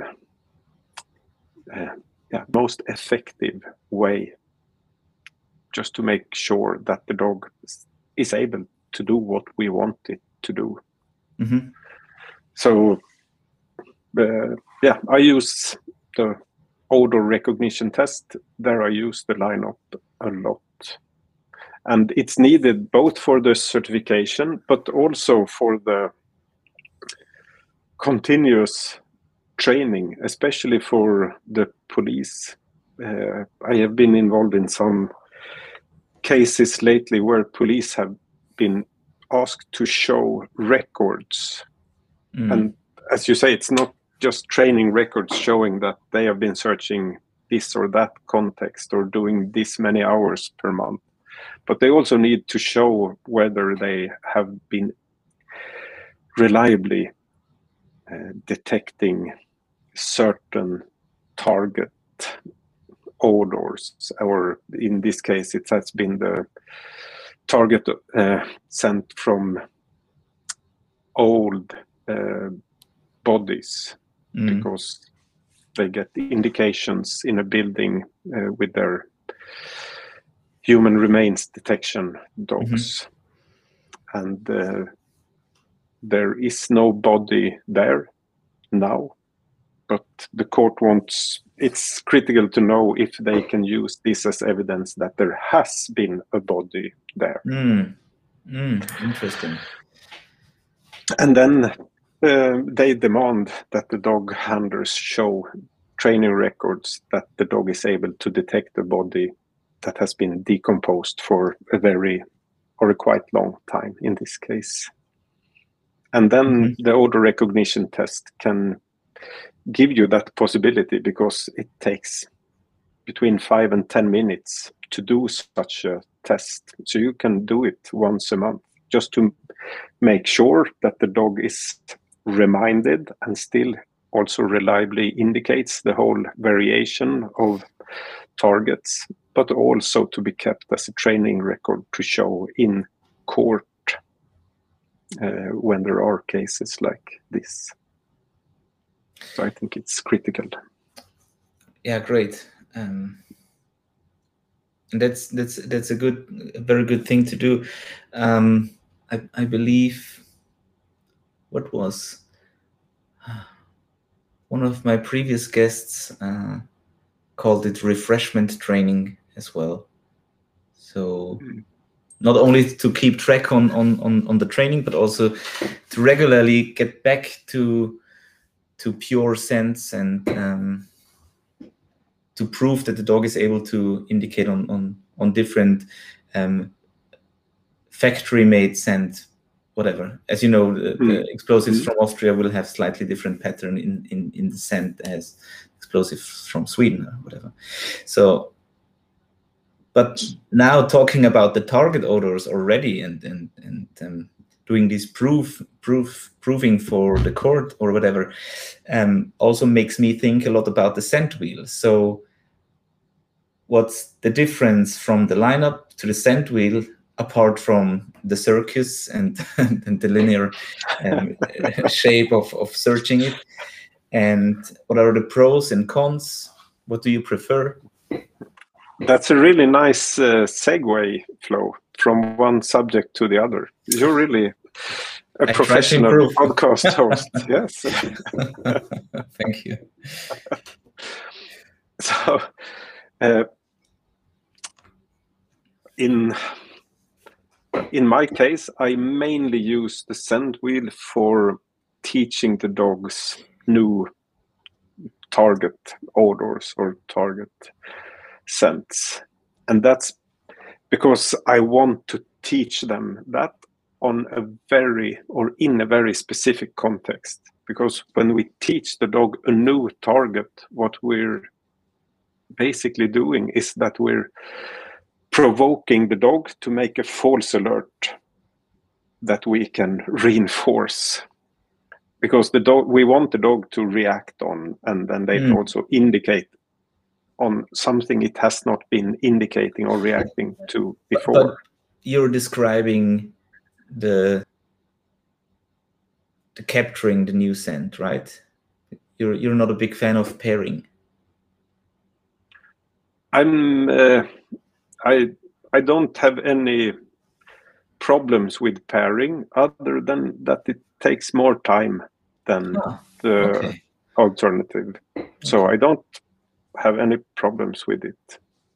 most effective way just to make sure that the dog is able to do what we want it to do. So I use the odor recognition test. There I use the lineup a lot. And it's needed both for the certification, but also for the continuous training, especially for the police. I have been involved in some cases lately where police have been asked to show records. And as you say, it's not just training records showing that they have been searching this or that context or doing this many hours per month, but they also need to show whether they have been reliably detecting certain target odors, or in this case it has been the target sent from old bodies, because they get indications in a building with their human remains detection dogs, and there is no body there now, but the court wants, it's critical to know if they can use this as evidence that there has been a body there. Interesting. And then they demand that the dog handlers show training records that the dog is able to detect a body that has been decomposed for a quite long time in this case. And then the odor recognition test can give you that possibility, because it takes between 5 and 10 minutes to do such a test. So you can do it once a month just to make sure that the dog is reminded and still also reliably indicates the whole variation of targets, but also to be kept as a training record to show in court when there are cases like this. So I think it's critical. Yeah, great. And that's a very good thing to do. I believe, what was one of my previous guests called it refreshment training as well. So not only to keep track on the training, but also to regularly get back to pure sense, and to prove that the dog is able to indicate on different factory-made scent, whatever. As you know, the explosives from Austria will have slightly different pattern in the scent as explosives from Sweden or whatever. So, but now talking about the target odors already and doing this proving for the court or whatever, also makes me think a lot about the scent wheel. So what's the difference from the lineup to the scent wheel, apart from the circus and the linear shape of searching it? And what are the pros and cons? What do you prefer? That's a really nice segue, Flo, from one subject to the other. You're really a professional podcast host. Yes. Thank you. So, in my case, I mainly use the scent wheel for teaching the dogs new target odors or target scents. And that's because I want to teach them that in a very specific context. Because when we teach the dog a new target, what we're basically doing is that we're provoking the dog to make a false alert that we can reinforce. Because we want the dog to react on, and then they also indicate on something it has not been indicating or reacting to before. But you're describing the capturing the new scent, right? You're not a big fan of pairing. I don't have any problems with pairing, other than that it takes more time than the alternative. So I don't have any problems with it.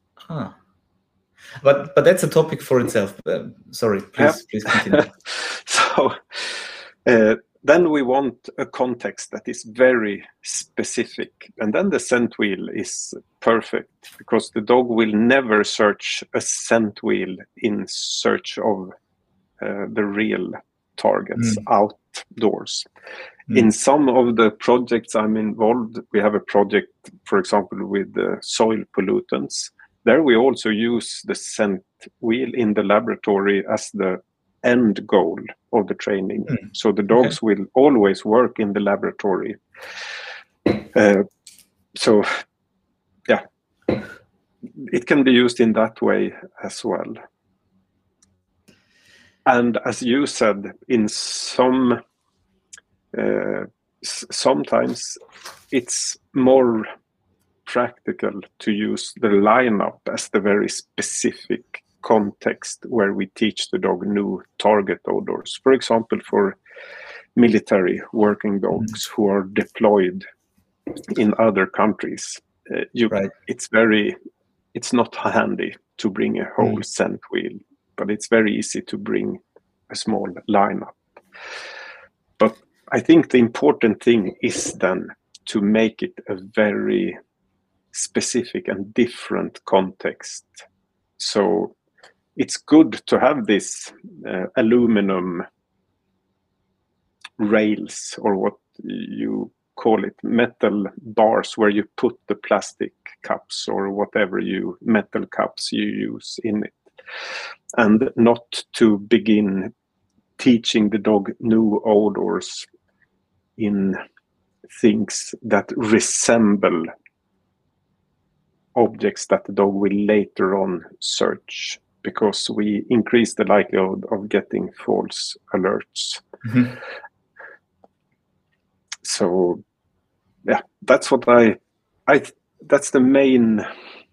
But that's a topic for itself. Sorry, please continue. So then we want a context that is very specific, and then the scent wheel is perfect, because the dog will never search a scent wheel in search of the real targets outdoors. In some of the projects I'm involved, we have a project, for example, with soil pollutants. There we also use the scent wheel in the laboratory as the end goal of the training. So the dogs will always work in the laboratory. So, yeah, it can be used in that way as well. And as you said, in sometimes it's more practical to use the lineup as the very specific context where we teach the dog new target odors. For example, for military working dogs who are deployed in other countries, it's not handy to bring a whole scent wheel, but it's very easy to bring a small lineup. But I think the important thing is then to make it a very specific and different context. So it's good to have this aluminum rails, or what you call it, metal bars, where you put the plastic cups or whatever metal cups you use in it, and not to begin teaching the dog new odors in things that resemble objects that the dog will later on search, because we increase the likelihood of getting false alerts. So, yeah, that's what that's the main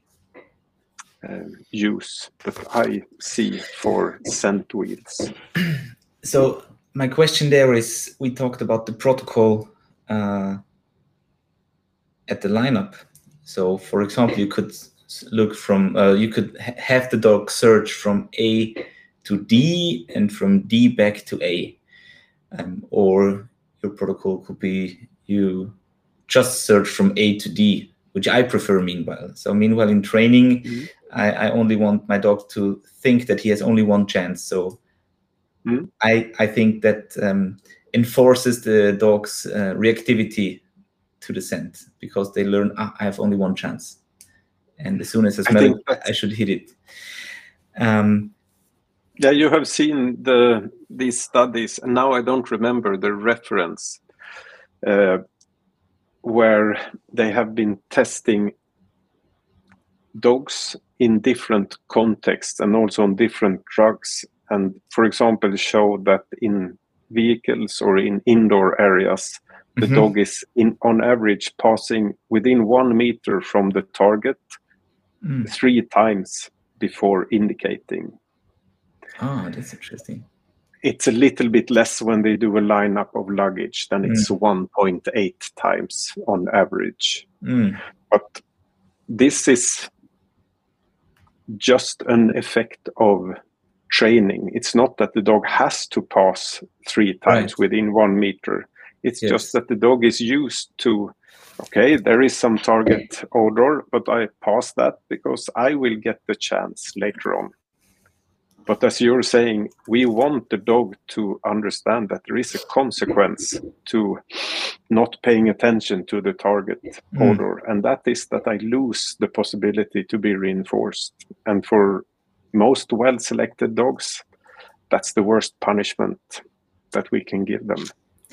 use that I see for scent wheels. So my question there is, we talked about the protocol at the lineup. So, for example, you could look from, you could have the dog search from A to D and from D back to A. Or your protocol could be you just search from A to D which I prefer meanwhile. So meanwhile in training, I only want my dog to think that he has only one chance. So I think that enforces the dog's reactivity to the scent, because they learn, I have only one chance. And as soon as I smell it, I should hit it. Yeah, you have seen these studies, and now I don't remember the reference, where they have been testing dogs in different contexts and also on different drugs. And for example, show that in vehicles or in indoor areas, the dog is on average passing within 1 meter from the target 3 times before indicating. Ah, that's interesting. It's a little bit less when they do a lineup of luggage, then it's 1.8 times on average. But this is just an effect of training. It's not that the dog has to pass 3 times within 1 meter. It's just that the dog is used to, okay, there is some target odor, but I pass that because I will get the chance later on. But as you're saying, we want the dog to understand that there is a consequence to not paying attention to the target odor. And that is that I lose the possibility to be reinforced. And for most well-selected dogs, that's the worst punishment that we can give them.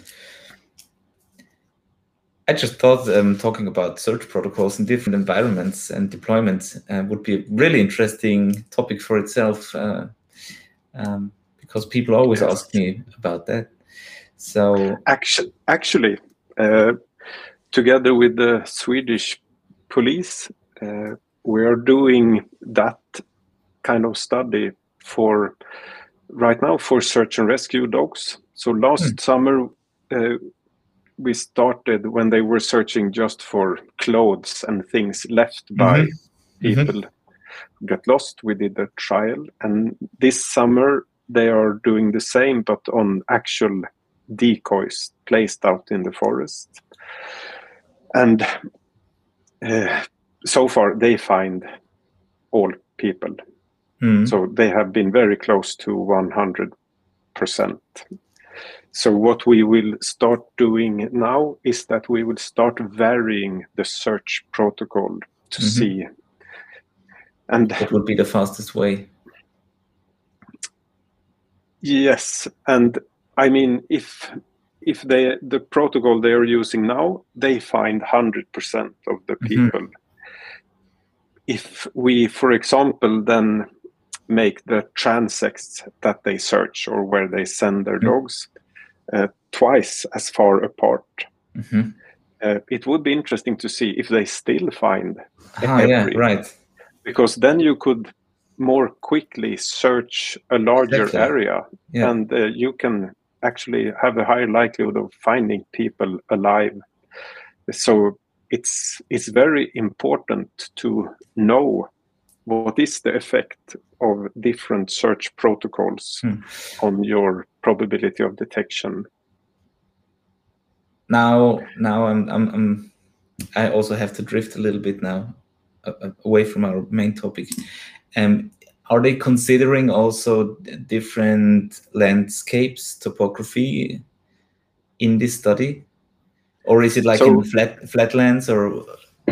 I just thought talking about search protocols in different environments and deployments would be a really interesting topic for itself, because people always ask me about that. So actually, together with the Swedish police, we are doing that kind of study for right now for search and rescue dogs. So last summer, we started when they were searching just for clothes and things left by people who got lost. We did a trial, and this summer they are doing the same, but on actual decoys placed out in the forest. And so far they find all people. So they have been very close to 100%. So what we will start doing now is that we will start varying the search protocol to see. And what would be the fastest way? Yes, and I mean, if the protocol they are using now, they find 100% of the people. If we, for example, then make the transects that they search or where they send their dogs twice as far apart, it would be interesting to see if they still find every. Because then you could more quickly search a larger area, and you can actually have a higher likelihood of finding people alive. So it's very important to know what is the effect of different search protocols on your probability of detection. Now I also have to drift a little bit now away from our main topic. Are they considering also different landscapes, topography in this study? Or is it like in flatlands, or?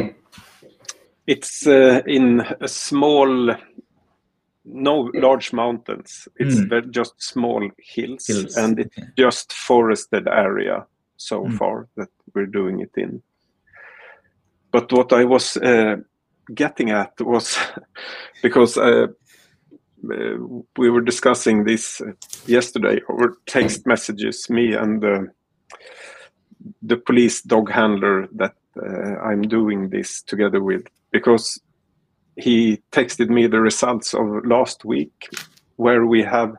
It's in a small, no large mountains. It's just small hills. And it's just forested area so far that we're doing it in. But what I was getting at was because we were discussing this yesterday over text messages, me and the police dog handler that I'm doing this together with, because he texted me the results of last week where we have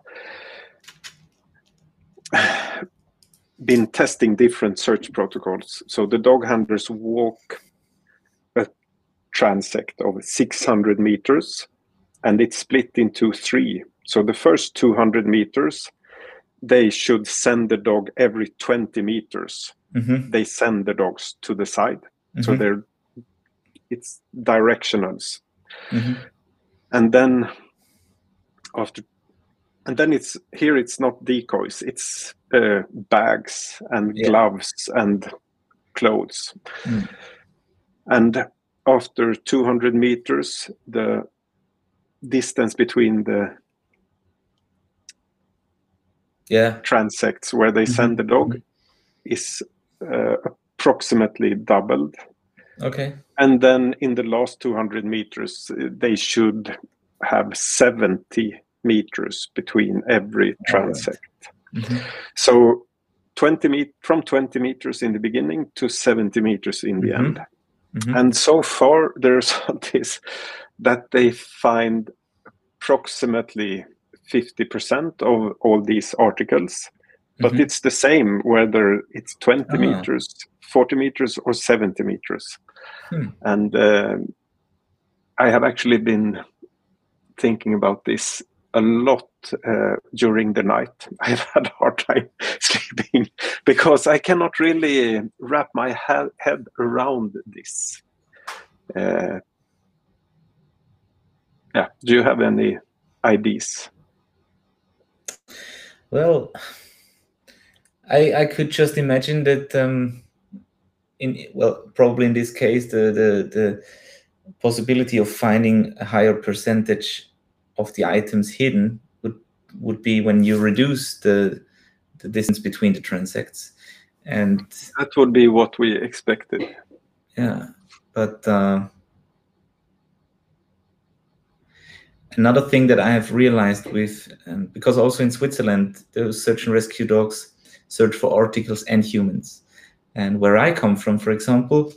been testing different search protocols. So the dog handlers walk a transect of 600 meters, and it's split into 3. So the first 200 meters, they should send the dog every 20 meters. They send the dogs to the side. So they're it's directionals. Mhm. And then it's not decoys, it's bags and Yeah. gloves and clothes. Mm. And after 200 meters, the distance between the transects where they send the dog is approximately doubled. Okay. And then in the last 200 meters, they should have 70 meters between every transect. So from 20 meters in the beginning to 70 meters in the end. And so far, the result is that they find approximately 50% of all these articles, but it's the same whether it's 20 meters, 40 meters, or 70 meters. And I have actually been thinking about this a lot during the night. I've had a hard time sleeping because I cannot really wrap my head around this. Do you have any ideas? Well, I could just imagine that probably in this case the possibility of finding a higher percentage of the items hidden would be when you reduce the distance between the transects, and that would be what we expected. Yeah, but another thing that I have realized because also in Switzerland, those search and rescue dogs search for articles and humans. And where I come from, for example,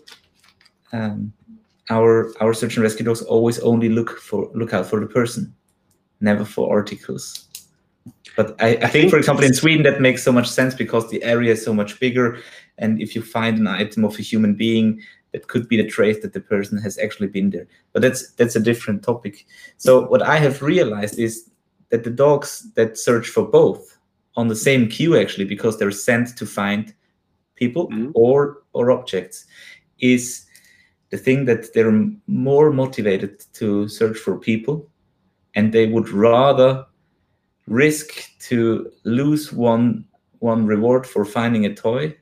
our search and rescue dogs always only look out for the person, never for articles. But I think, for example, in Sweden, that makes so much sense because the area is so much bigger. And if you find an item of a human being, that could be the trace that the person has actually been there. But that's a different topic. So what I have realized is that the dogs that search for both on the same queue, actually, because they're sent to find people or objects, is the thing that they're more motivated to search for people, and they would rather risk to lose one reward for finding a toy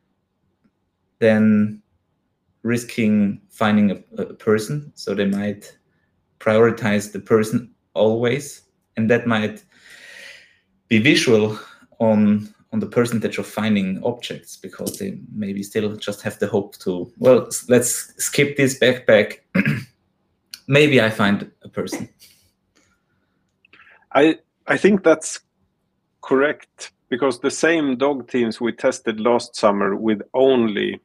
than risking finding a person. So they might prioritize the person always, and that might be visual on the percentage of finding objects, because they maybe still just have the hope to, well, let's skip this backpack. Maybe I find a person. I think that's correct, because the same dog teams we tested last summer with only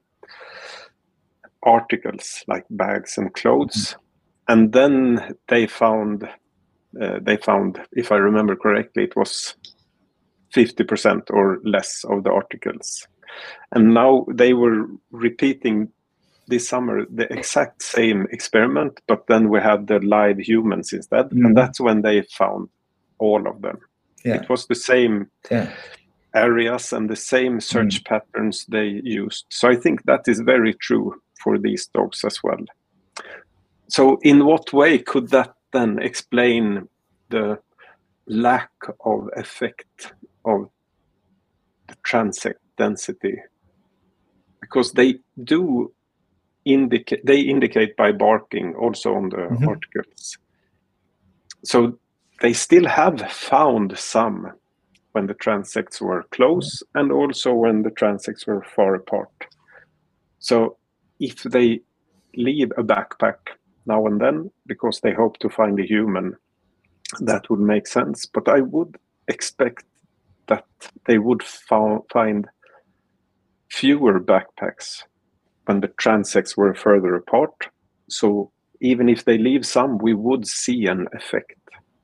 articles like bags and clothes, and then they found, if I remember correctly, it was 50% or less of the articles. And now they were repeating this summer the exact same experiment, but then we had the live humans instead, and that's when they found all of them. It was the same areas and the same search patterns they used. So I think that is very true for these dogs as well. So in what way could that then explain the lack of effect of the transect density? Because they do indicate by barking also on the articles. So they still have found some when the transects were close and also when the transects were far apart. So if they leave a backpack now and then because they hope to find a human, that would make sense. But I would expect that they would find fewer backpacks when the transects were further apart. So even if they leave some, we would see an effect.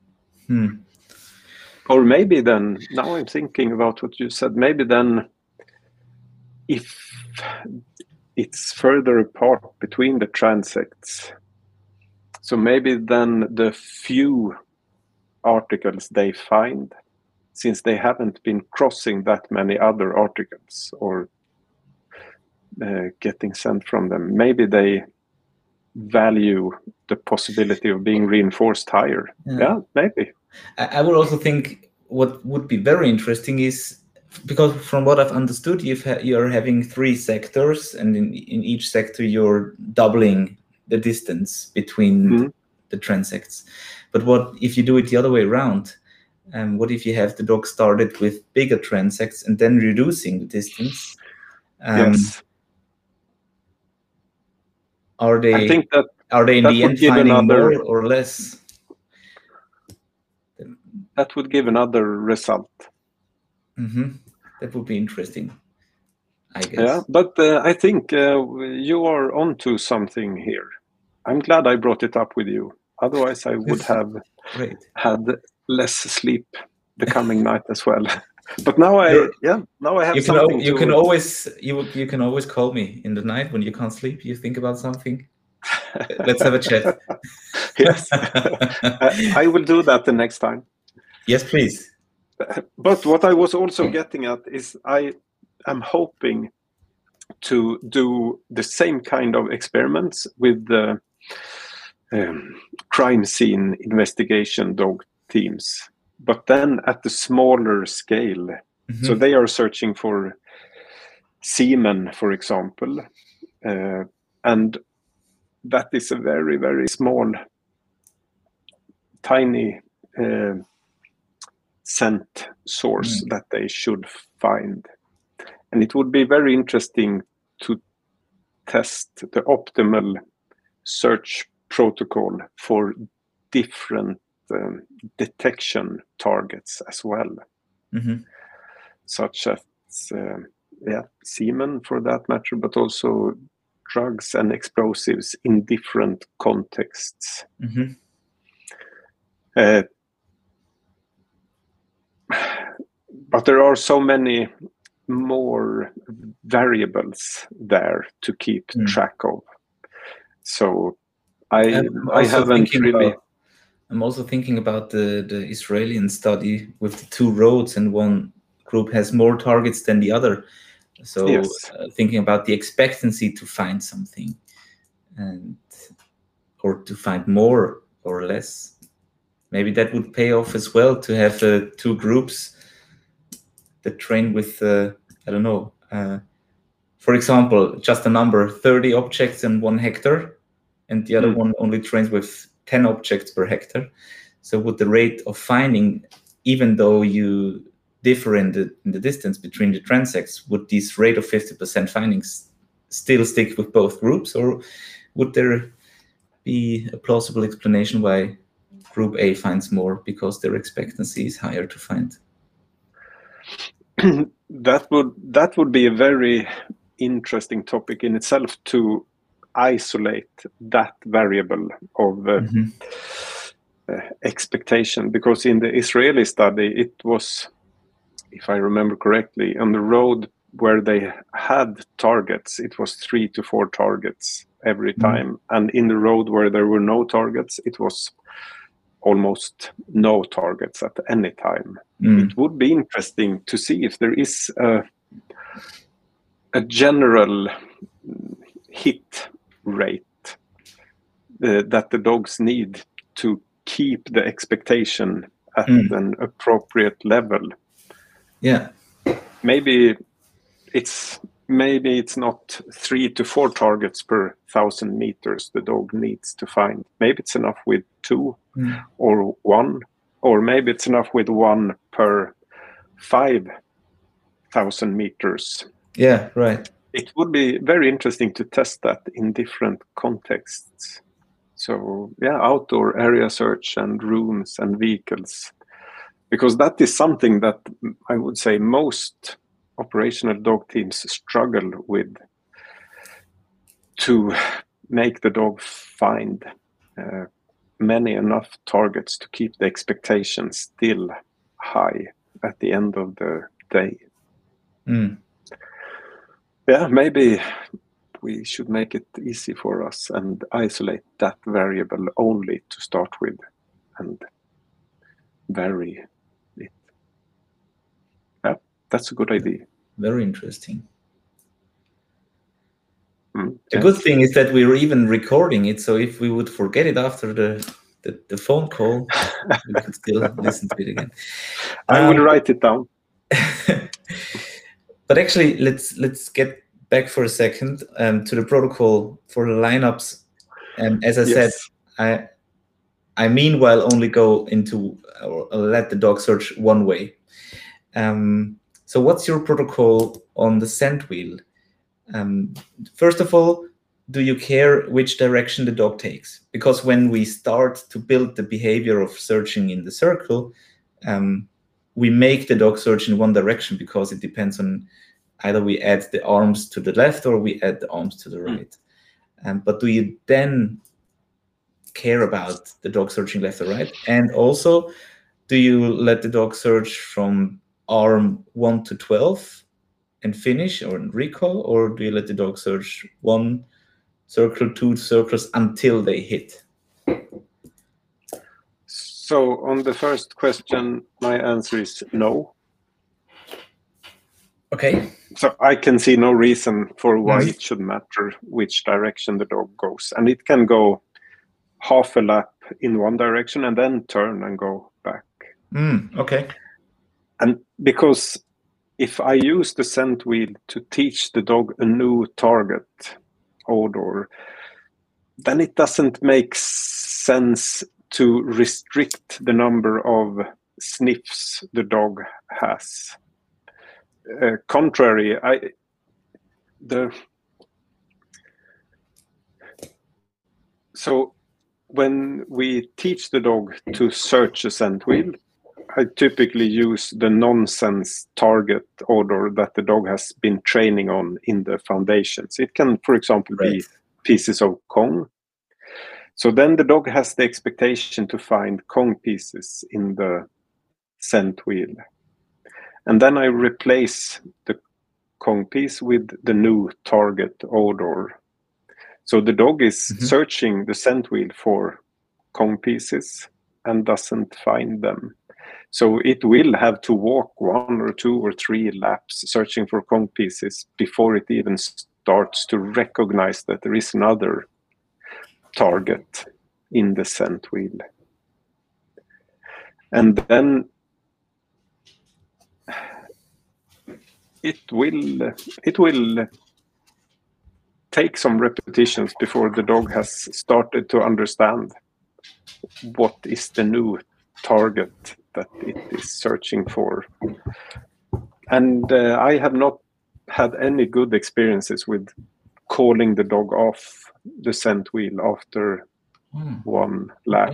Or maybe then, now I'm thinking about what you said, maybe then if it's further apart between the transects, so maybe then the few articles they find, since they haven't been crossing that many other articles or getting sent from them, maybe they value the possibility of being reinforced higher. Yeah, maybe. I would also think what would be very interesting is, because from what I've understood, you're having 3 sectors, and in each sector you're doubling the distance between the transects. But what if you do it the other way around? What if you have the dog started with bigger transects and then reducing the distance? Yes. Are they? I think that in the end finding more or less? That would give another result. That would be interesting, I guess. Yeah, but I think you are onto something here. I'm glad I brought it up with you. Otherwise, I would have had less sleep the coming night as well. But now I have something. You can always call me in the night when you can't sleep. You think about something. Let's have a chat. Yes, I will do that the next time. Yes, please. But what I was also getting at is I am hoping to do the same kind of experiments with the crime scene investigation dog teams, but then at the smaller scale. So they are searching for semen, for example, and that is a very, very small, tiny scent source that they should find. And it would be very interesting to test the optimal search protocol for different detection targets as well, such as semen for that matter, but also drugs and explosives in different contexts. But there are so many more variables there to keep track of. So I haven't really. I'm also thinking about the Israeli study with the 2 roads, and one group has more targets than the other. So thinking about the expectancy to find something, or to find more or less. Maybe that would pay off as well, to have 2 groups that train with, I don't know, for example, just a number, 30 objects in 1 hectare, and the other one only trains with 10 objects per hectare. So would the rate of finding, even though you differ in the distance between the transects, would this rate of 50% findings still stick with both groups, or would there be a plausible explanation why Group A finds more because their expectancy is higher to find? That would be a very interesting topic in itself, to isolate that variable of expectation, because in the Israeli study it was, if I remember correctly, on the road where they had targets, it was 3 to 4 targets every time, and in the road where there were no targets, it was almost no targets at any time. It would be interesting to see if there is a general hit rate that the dogs need to keep the expectation at an appropriate level. Yeah. Maybe it's not 3 to 4 targets per 1,000 meters the dog needs to find. Maybe it's enough with 2 or 1, or maybe it's enough with 1 per 5,000 meters. Yeah, right. It would be very interesting to test that in different contexts. So outdoor area search and rooms and vehicles, because that is something that I would say most operational dog teams struggle with, to make the dog find many enough targets to keep the expectations still high at the end of the day. Yeah, maybe we should make it easy for us and isolate that variable only to start with and vary it. Yeah, that's a good idea. Very interesting. The good thing is that we're even recording it, so if we would forget it after the phone call, we could still listen to it again. I will write it down. But actually, let's get back for a second to the protocol for the lineups. And as I said, I meanwhile only go into or let the dog search one way. So what's your protocol on the scent wheel? First of all, do you care which direction the dog takes? Because when we start to build the behavior of searching in the circle, we make the dog search in one direction because it depends on either we add the arms to the left or we add the arms to the right. But do you then care about the dog searching left or right? And also, do you let the dog search from arm 1 to 12 and finish or recall, or do you let the dog search 1 circle, 2 circles until they hit? So on the first question, my answer is no. Okay. So I can see no reason for why it should matter which direction the dog goes. And it can go half a lap in one direction and then turn and go back. Okay. And because if I use the scent wheel to teach the dog a new target odor, then it doesn't make sense to restrict the number of sniffs the dog has. Contrary, so when we teach the dog to search a scent wheel, I typically use the nonsense target odor that the dog has been training on in the foundations. It can, for example, be pieces of Kong. So then the dog has the expectation to find Kong pieces in the scent wheel. And then I replace the Kong piece with the new target odor. So the dog is searching the scent wheel for Kong pieces and doesn't find them. So it will have to walk 1 or 2 or 3 laps searching for Kong pieces before it even starts to recognize that there is another target in the scent wheel. And then it will take some repetitions before the dog has started to understand what is the new target that it is searching for. And I have not had any good experiences with calling the dog off the scent wheel after one lap.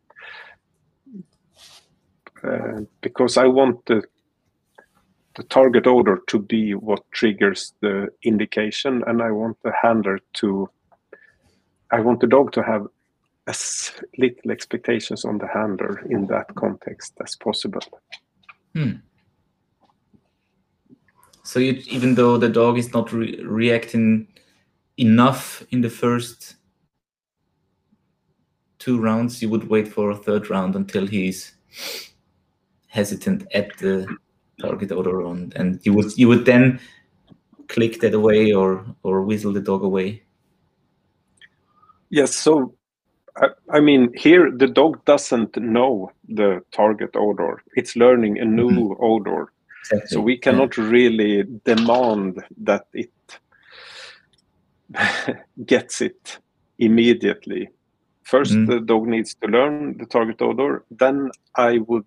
Because I want the target odor to be what triggers the indication, and I want the dog to have as little expectations on the handler in that context as possible. So even though the dog is not reacting enough in the first 2 rounds, you would wait for a 3rd round until he's hesitant at the target odor on, and you would then click that away or whistle the dog away. Yes, so I mean, here the dog doesn't know the target odor. It's learning a new odor. Exactly. So we cannot really demand that it gets it immediately. First, the dog needs to learn the target odor. Then I would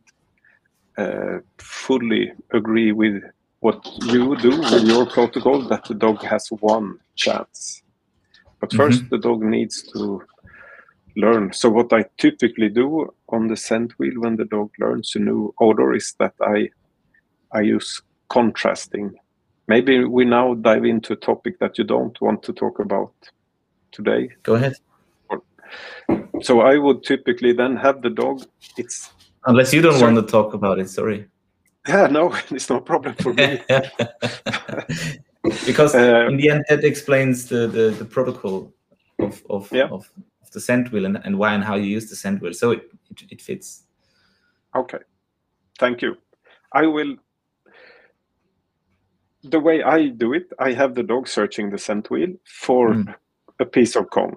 fully agree with what you do with your protocol, that the dog has 1 chance. But first, the dog needs to learn. So what I typically do on the scent wheel when the dog learns a new odor is that I use contrasting. Maybe we now dive into a topic that you don't want to talk about today. Go ahead. So I would typically then have the dog. Unless you don't want to talk about it, sorry. Yeah, no, it's no problem for me. Because in the end, that explains the protocol of the scent wheel and why and how you use the scent wheel. So it fits. Okay, thank you. I will the way I do it, I have the dog searching the scent wheel for a piece of Kong.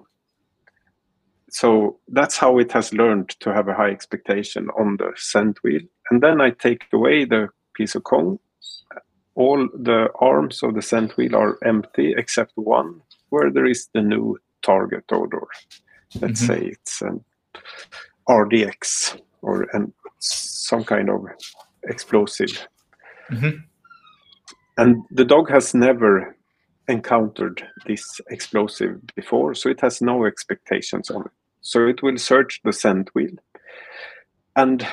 So that's how it has learned to have a high expectation on the scent wheel. And then I take away the piece of Kong. All the arms of the scent wheel are empty except one where there is the new target odor. Let's say it's an RDX or some kind of explosive. And the dog has never encountered this explosive before, so it has no expectations on it. So it will search the scent wheel and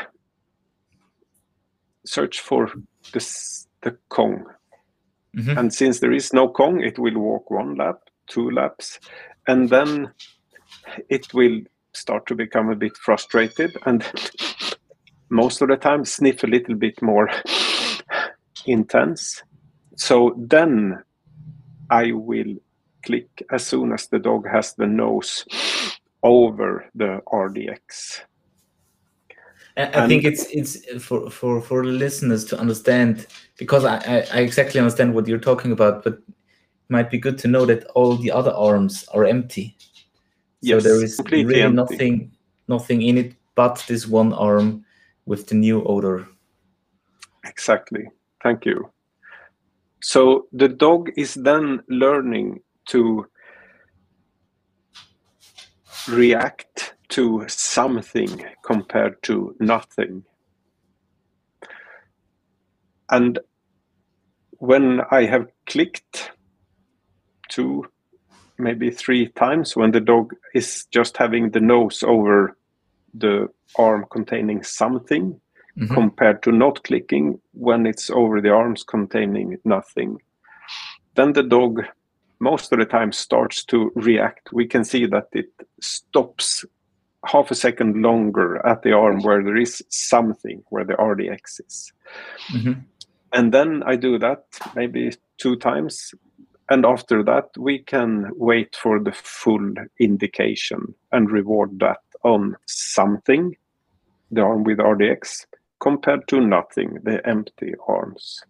search for the Kong. And since there is no Kong, it will walk 1 lap, 2 laps, and then it will start to become a bit frustrated and most of the time sniff a little bit more intense. So then I will click as soon as the dog has the nose over the RDX. I think it's for listeners to understand, because I exactly understand what you're talking about, but it might be good to know that all the other arms are empty. Yes, so there is really empty. nothing in it but this one arm with the new odor. Exactly. Thank you. So the dog is then learning to react to something compared to nothing. And when I have clicked 2, maybe 3 times, when the dog is just having the nose over the arm containing something, compared to not clicking when it's over the arms containing nothing, then the dog most of the time starts to react. We can see that it stops half a second longer at the arm where there is something, where the RDX is. And then I do that maybe 2 times. And after that, we can wait for the full indication and reward that on something, the arm with RDX, compared to nothing, the empty arms.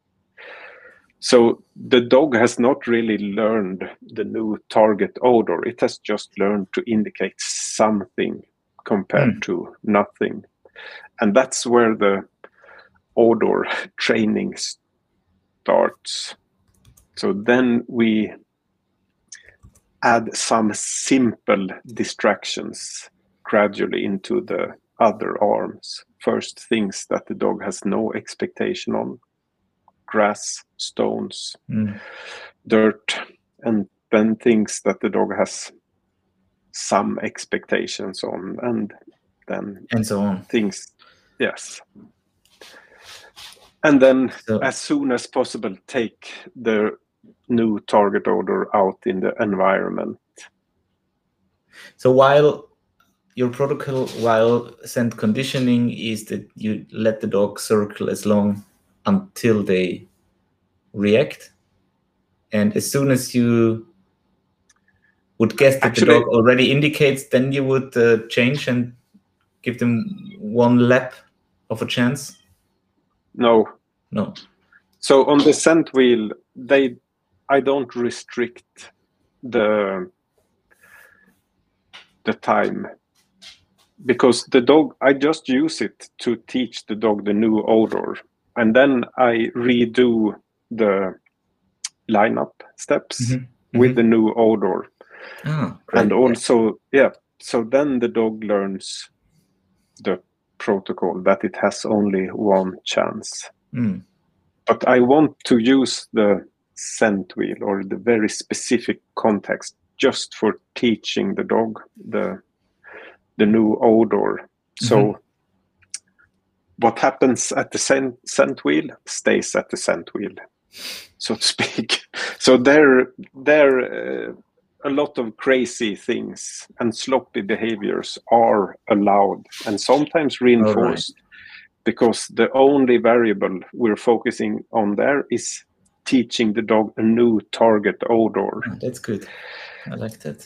So the dog has not really learned the new target odor. It has just learned to indicate something compared to nothing. And that's where the odor training starts. So then we add some simple distractions gradually into the other arms. First, things that the dog has no expectation on: grass, stones, dirt, and then things that the dog has some expectations on, and then and so on. Things, yes. And then as soon as possible, take the new target odor out in the environment. So while your protocol, while scent conditioning, is that you let the dog circle as long until they react, and as soon as you would guess that the dog already indicates, then you would change and give them 1 lap of a chance? No. So on the scent wheel, I don't restrict the time, because the dog, I just use it to teach the dog the new odor, and then I redo the lineup steps with the new odor. And also, so then the dog learns the protocol, that it has only 1 chance. But I want to use the scent wheel or the very specific context just for teaching the dog the new odor. So what happens at the scent wheel stays at the scent wheel, so to speak. So there a lot of crazy things and sloppy behaviors are allowed and sometimes reinforced, because the only variable we're focusing on there is teaching the dog a new target odor. That's good. I like that.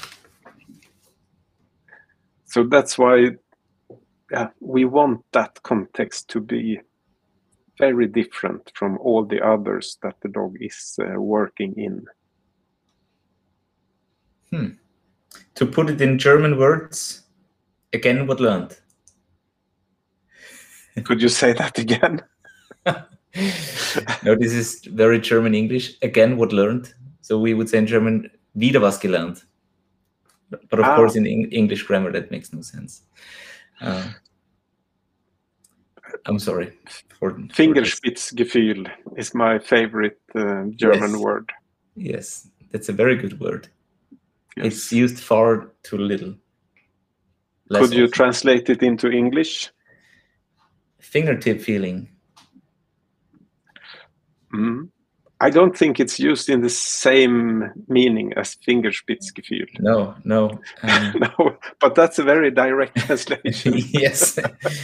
So that's why we want that context to be very different from all the others that the dog is working in. To put it in German words, again, what learned? Could you say that again? No, this is very German English. Again, what learned? So we would say in German, wieder was gelernt. But of course, in English grammar, that makes no sense. I'm sorry. Fingerspitzgefühl is my favorite German word. Yes, that's a very good word. Yes. It's used far too little. Could you translate it into English? Fingertip feeling. I don't think it's used in the same meaning as Fingerspitzgefühl. No. No, but that's a very direct translation. Yes.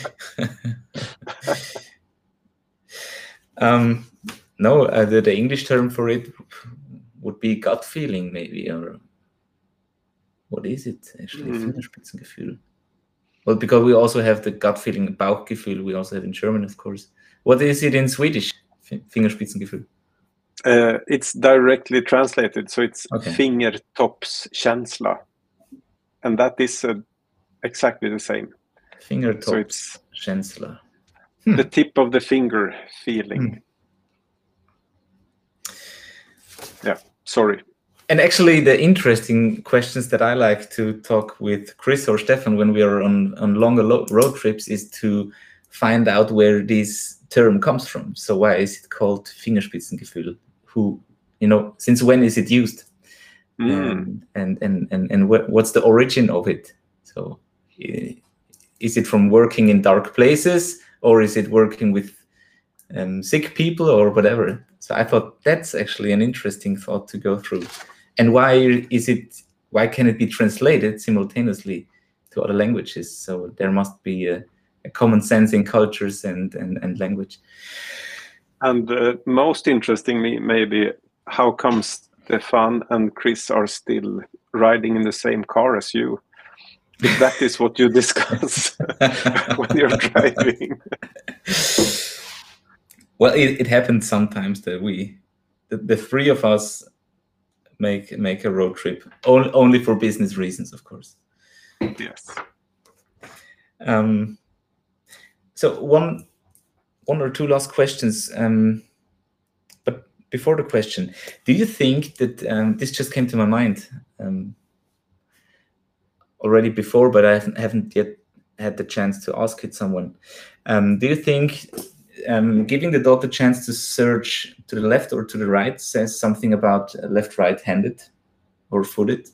No, the English term for it would be gut feeling, maybe, or what is it actually? Fingerspitzengefühl. Well, because we also have the gut feeling, Bauchgefühl. We also have in German, of course. What is it in Swedish? Fingerspitzengefühl. It's directly translated, so it's Okay. Fingertoppskänsla, and that is exactly the same. Fingertoppskänsla. The tip of the finger feeling. Yeah, sorry. And actually, the interesting questions that I like to talk with Chris or Stefan when we are on longer road trips is to find out where this term comes from. So why is it called Fingerspitzengefühl? Since when is it used? And what's the origin of it? So is it from working in dark places, or is it working with sick people or whatever? So I thought that's actually an interesting thought to go through. And why can it be translated simultaneously to other languages? So there must be a common sense in cultures and language. And most interestingly, maybe, how come Stefan and Chris are still riding in the same car as you? If that is what you discuss when you're driving. Well, it happens sometimes that the three of us make a road trip, only for business reasons, of course. Yes. So one or two last questions. But before the question, do you think that this just came to my mind already before, but I haven't yet had the chance to ask it someone. Do you think giving the dog the chance to search to the left or to the right says something about left-right-handed or footed?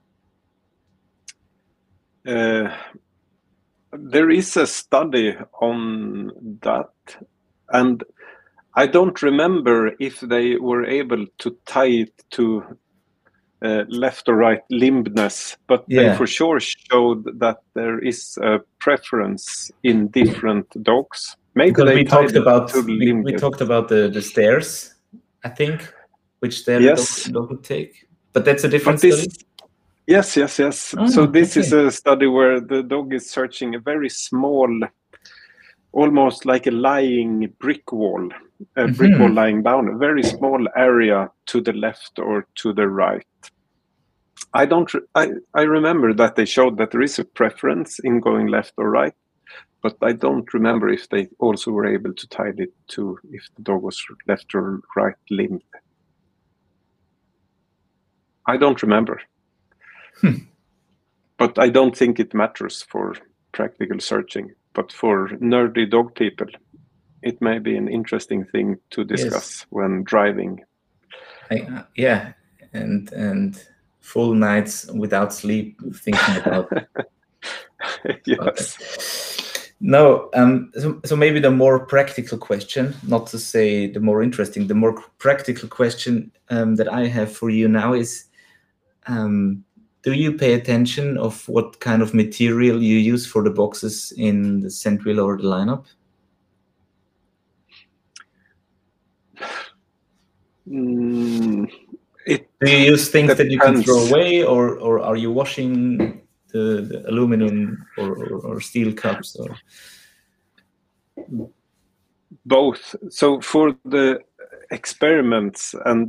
There is a study on that, and I don't remember if they were able to tie it to left or right limbness, but they for sure showed that there is a preference in different dogs. Maybe we talked about the stairs, I think, which the dog would take. But that's a different study. Yes. So this is a study where the dog is searching a very small, almost like a lying brick wall, brick wall lying down, a very small area to the left or to the right. I remember that they showed that there is a preference in going left or right, but I don't remember if they also were able to tie it to if the dog was left or right limbed. I don't remember. But I don't think it matters for practical searching. But for nerdy dog people, it may be an interesting thing to discuss when driving. And full nights without sleep thinking about yes. No, so maybe the more practical question, not to say the more interesting, the more practical question that I have for you now is, do you pay attention of what kind of material you use for the boxes in the scent wheel or the lineup? Do you use things that you can throw away, or are you washing the aluminum or steel cups? Or both. So for the experiments and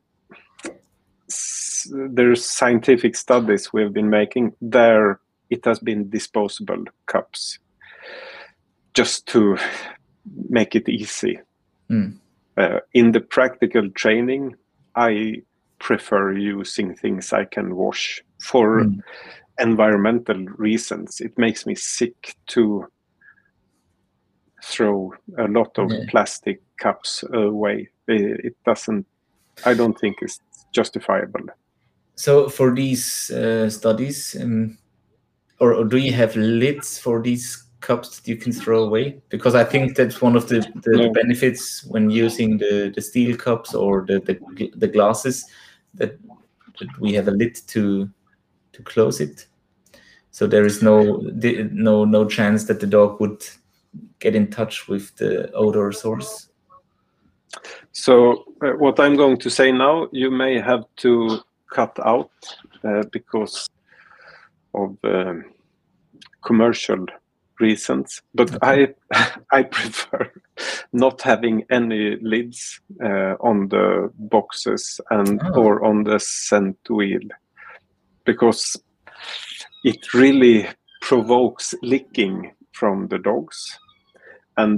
there's scientific studies we've been making, there it has been disposable cups, just to make it easy. In the practical training, I prefer using things I can wash for environmental reasons. It makes me sick to throw a lot of plastic cups away. It doesn't, I don't think it's justifiable. So for these studies, or do you have lids for these cups that you can throw away? Because I think that's one of the benefits when using the steel cups or the glasses, that we have a lid to close it. So there is no chance that the dog would get in touch with the odor source. So what I'm going to say now, you may have to cut out because of commercial reasons. But okay. I prefer not having any lids on the boxes and or on the scent wheel, because it really provokes licking from the dogs, and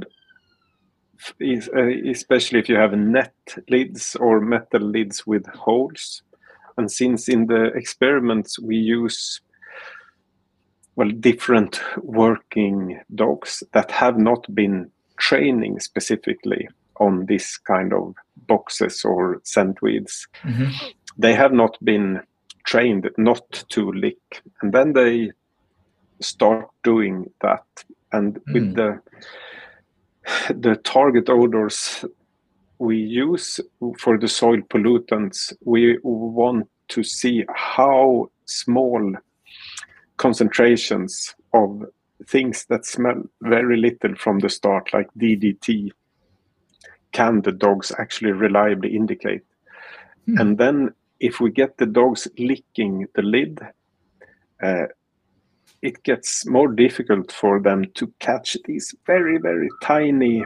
especially if you have net lids or metal lids with holes. And since in the experiments we use different working dogs that have not been training specifically on this kind of boxes or scent wheels, they have not been trained not to lick, and then they start doing that. And with the target odors we use for the soil pollutants, we want to see how small concentrations of things that smell very little from the start, like DDT, can the dogs actually reliably indicate. And then if we get the dogs licking the lid, it gets more difficult for them to catch these very, very tiny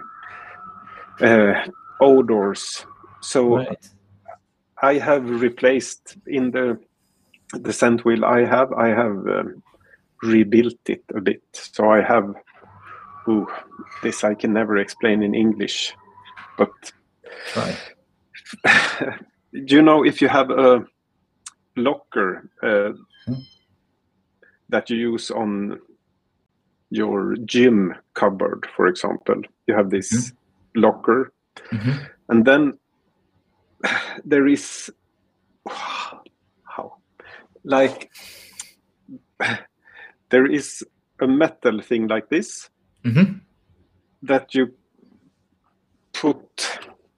odors. So I have replaced in the scent wheel I have rebuilt it a bit. So I have, this I can never explain in English, but you know, if you have a locker that you use on your gym cupboard, for example, you have this locker, and then there is there is a metal thing like this that you put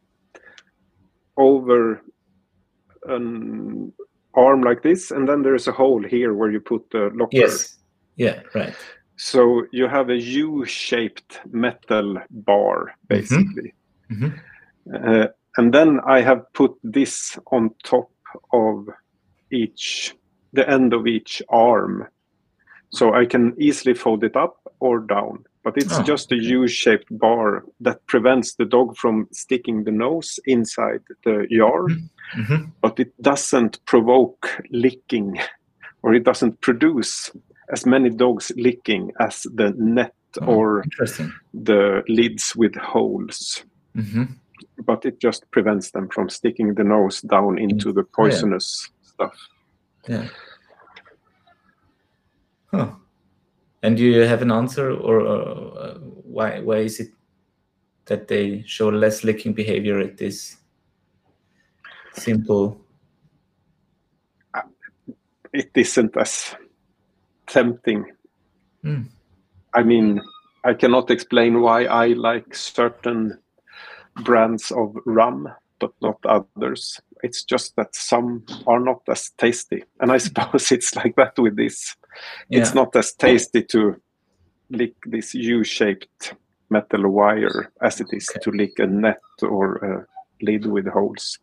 over an arm like this, and then there's a hole here where you put the locker. Yes. Yeah, right. So you have a U-shaped metal bar, basically. And then I have put this on top of the end of each arm. So I can easily fold it up or down. But it's just a U-shaped bar that prevents the dog from sticking the nose inside the yard. But it doesn't provoke licking, or it doesn't produce as many dogs licking as the net or the lids with holes. But it just prevents them from sticking the nose down into the poisonous stuff. Yeah. And do you have an answer, or why is it that they show less licking behavior at this simple? It isn't as tempting. I mean, I cannot explain why I like certain brands of rum but not others. It's just that some are not as tasty, and I suppose it's like that with this. It's not as tasty to lick this U-shaped metal wire as it is to lick a net or a lid with holes.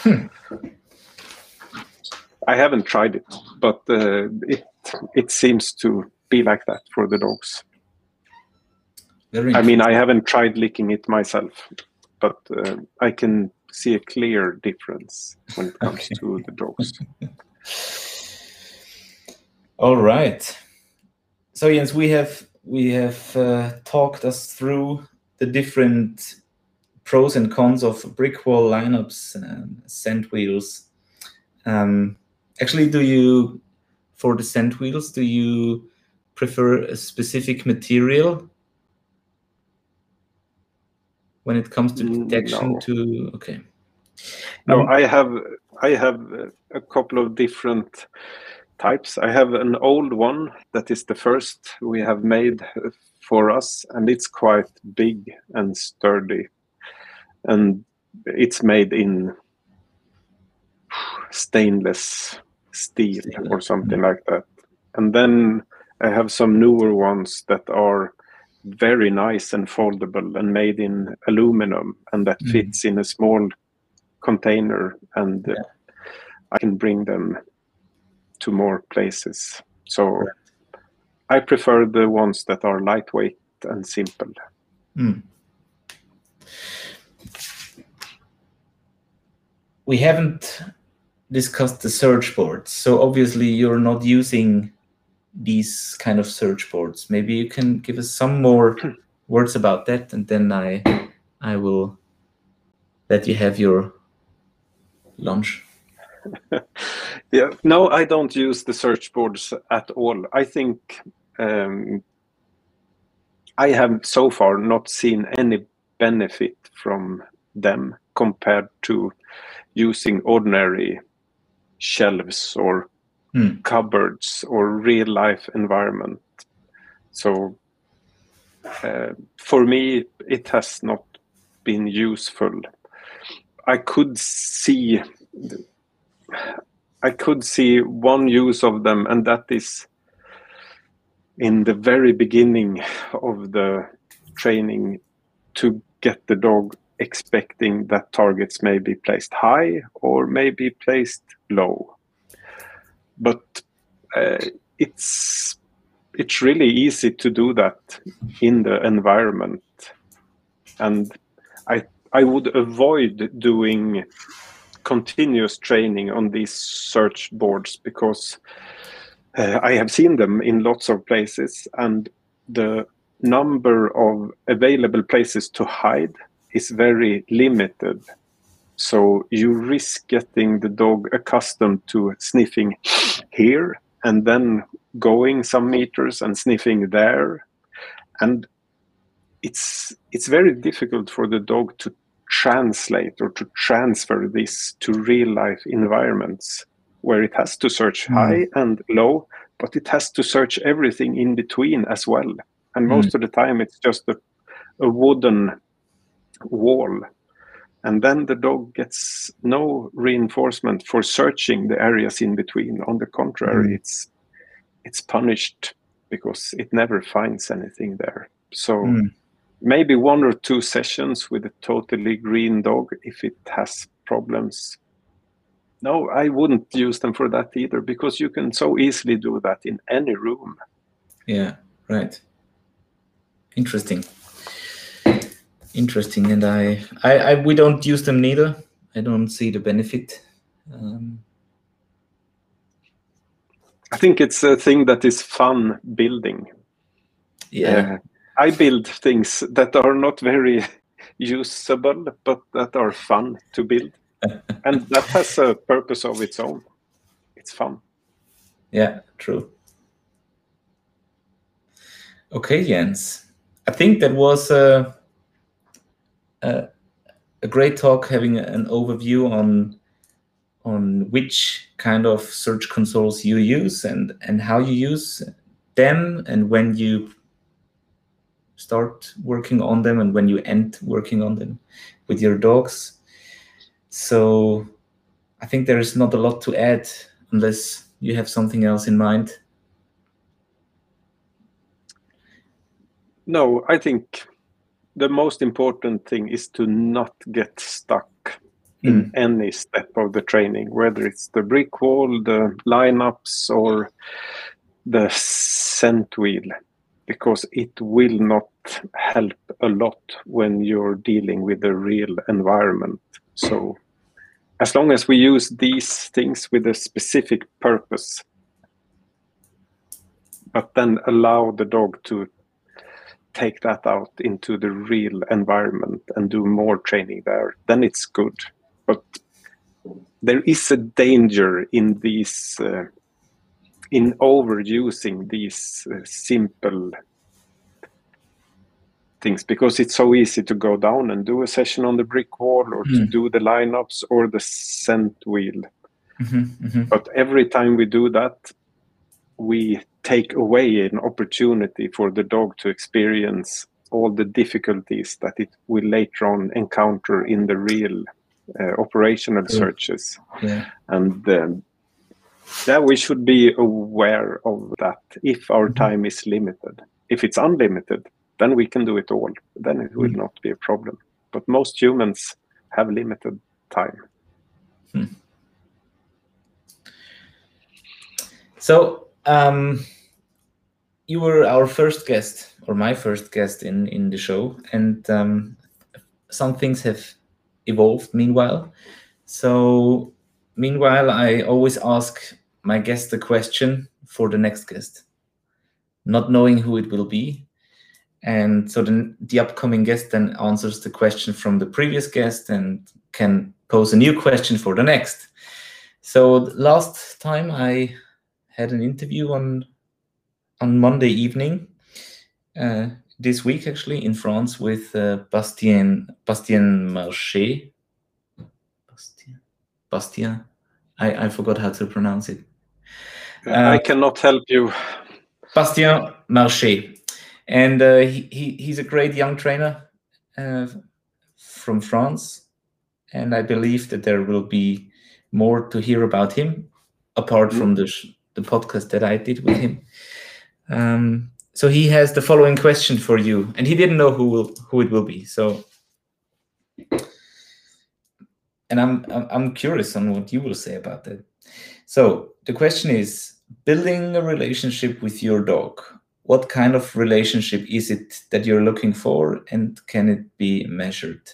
I haven't tried it, but it seems to be like that for the dogs. Very I mean, I haven't tried licking it myself, but I can see a clear difference when it comes to the dogs. All right. So Jens, we have talked us through the different pros and cons of brick wall lineups and scent wheels. Actually, for the scent wheels, do you prefer a specific material when it comes to detection? No. Okay. No, I have a couple of different types. I have an old one that is the first we have made for us, and it's quite big and sturdy, and it's made in stainless steel or something like that. And then I have some newer ones that are very nice and foldable and made in aluminum, and that fits in a small container, and I can bring them to more places. So I prefer the ones that are lightweight and simple. We haven't discussed the search boards, so obviously you're not using these kind of search boards. Maybe you can give us some more words about that, and then I will let you have your lunch. Yeah, no, I don't use the search boards at all. I think I have so far not seen any benefit from them compared to using ordinary shelves or cupboards or real life environment. So for me, it has not been useful. I could see one use of them, and that is in the very beginning of the training, to get the dog expecting that targets may be placed high or may be placed low. But it's really easy to do that in the environment, and I would avoid doing continuous training on these search boards, because I have seen them in lots of places, and the number of available places to hide is very limited. So you risk getting the dog accustomed to sniffing here and then going some meters and sniffing there. And it's very difficult for the dog to translate or to transfer this to real life environments where it has to search high and low, but it has to search everything in between as well. And most of the time it's just a wooden wall. And then the dog gets no reinforcement for searching the areas in between. On the contrary, it's punished because it never finds anything there. So maybe 1 or 2 sessions with a totally green dog if it has problems. No, I wouldn't use them for that either, because you can so easily do that in any room. Yeah, right. Interesting. And we don't use them neither. I don't see the benefit. I think it's a thing that is fun building. Yeah. I build things that are not very usable, but that are fun to build. And that has a purpose of its own. It's fun. Yeah, true. Okay, Jens. I think that was a great talk, having an overview on which kind of search consoles you use and how you use them, and when you start working on them and when you end working on them with your dogs. So I think there is not a lot to add unless you have something else in mind. No, I think the most important thing is to not get stuck in any step of the training, whether it's the brick wall, the lineups, or the scent wheel. because it will not help a lot when you're dealing with the real environment. So as long as we use these things with a specific purpose, but then allow the dog to take that out into the real environment and do more training there, then it's good. But there is a danger in these, in overusing these simple things, because it's so easy to go down and do a session on the brick wall, or to do the lineups or the scent wheel. But every time we do that, we take away an opportunity for the dog to experience all the difficulties that it will later on encounter in the real operational searches. And we should be aware of that. If our time is limited, if it's unlimited, then we can do it all. Then it will not be a problem. But most humans have limited time. So you were our first guest, or my first guest in the show, and some things have evolved meanwhile. So meanwhile, I always ask my guest the question for the next guest, not knowing who it will be. And so then the upcoming guest then answers the question from the previous guest and can pose a new question for the next. So last time I had an interview on Monday evening, this week actually, in France, with Bastien Marché. Bastien, I forgot how to pronounce it. I cannot help you. Bastien Marché. And he's a great young trainer from France. And I believe that there will be more to hear about him, apart from the podcast that I did with him. So he has the following question for you, and he didn't know who it will be. So, and I'm curious on what you will say about that. So the question is, building a relationship with your dog. What kind of relationship is it that you're looking for, and can it be measured?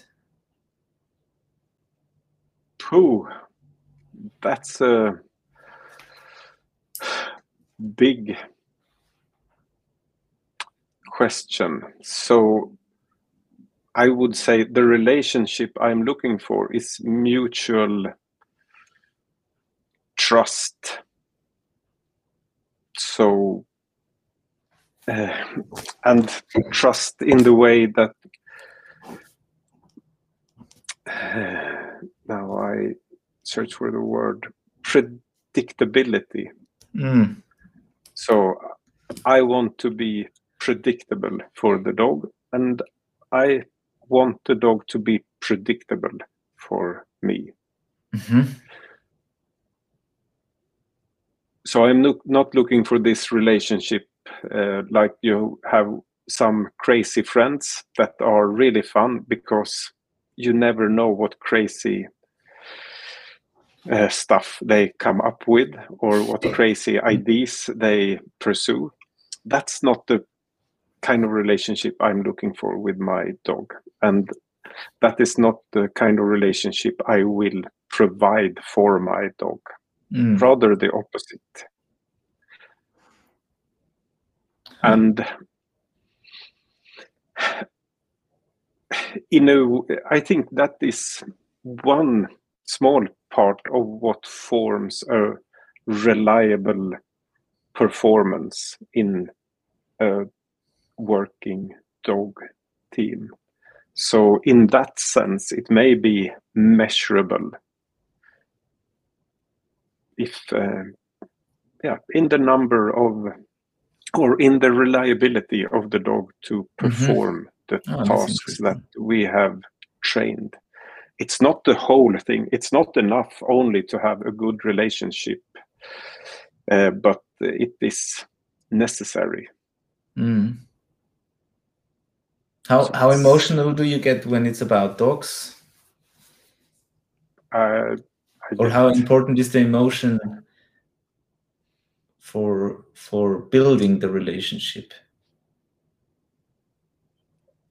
That's a big question. So I would say the relationship I'm looking for is mutual trust. So and trust in the way that now I search for the word predictability. So I want to be predictable for the dog, and I want the dog to be predictable for me. So I'm not looking for this relationship like you have some crazy friends that are really fun, because you never know what crazy stuff they come up with, or what crazy ideas they pursue. That's not the kind of relationship I'm looking for with my dog, and that is not the kind of relationship I will provide for my dog. Rather the opposite. And I think that is one small part of what forms a reliable performance in a working dog team. So in that sense, it may be measurable if in the number of, or in the reliability of the dog to perform the tasks that we have trained. It's not the whole thing. It's not enough only to have a good relationship, but it is necessary. How emotional do you get when it's about dogs? Or how important is the emotion for building the relationship?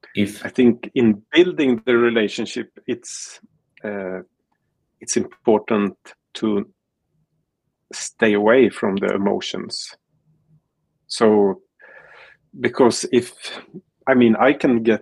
I think in building the relationship, it's important to stay away from the emotions. So, because I can get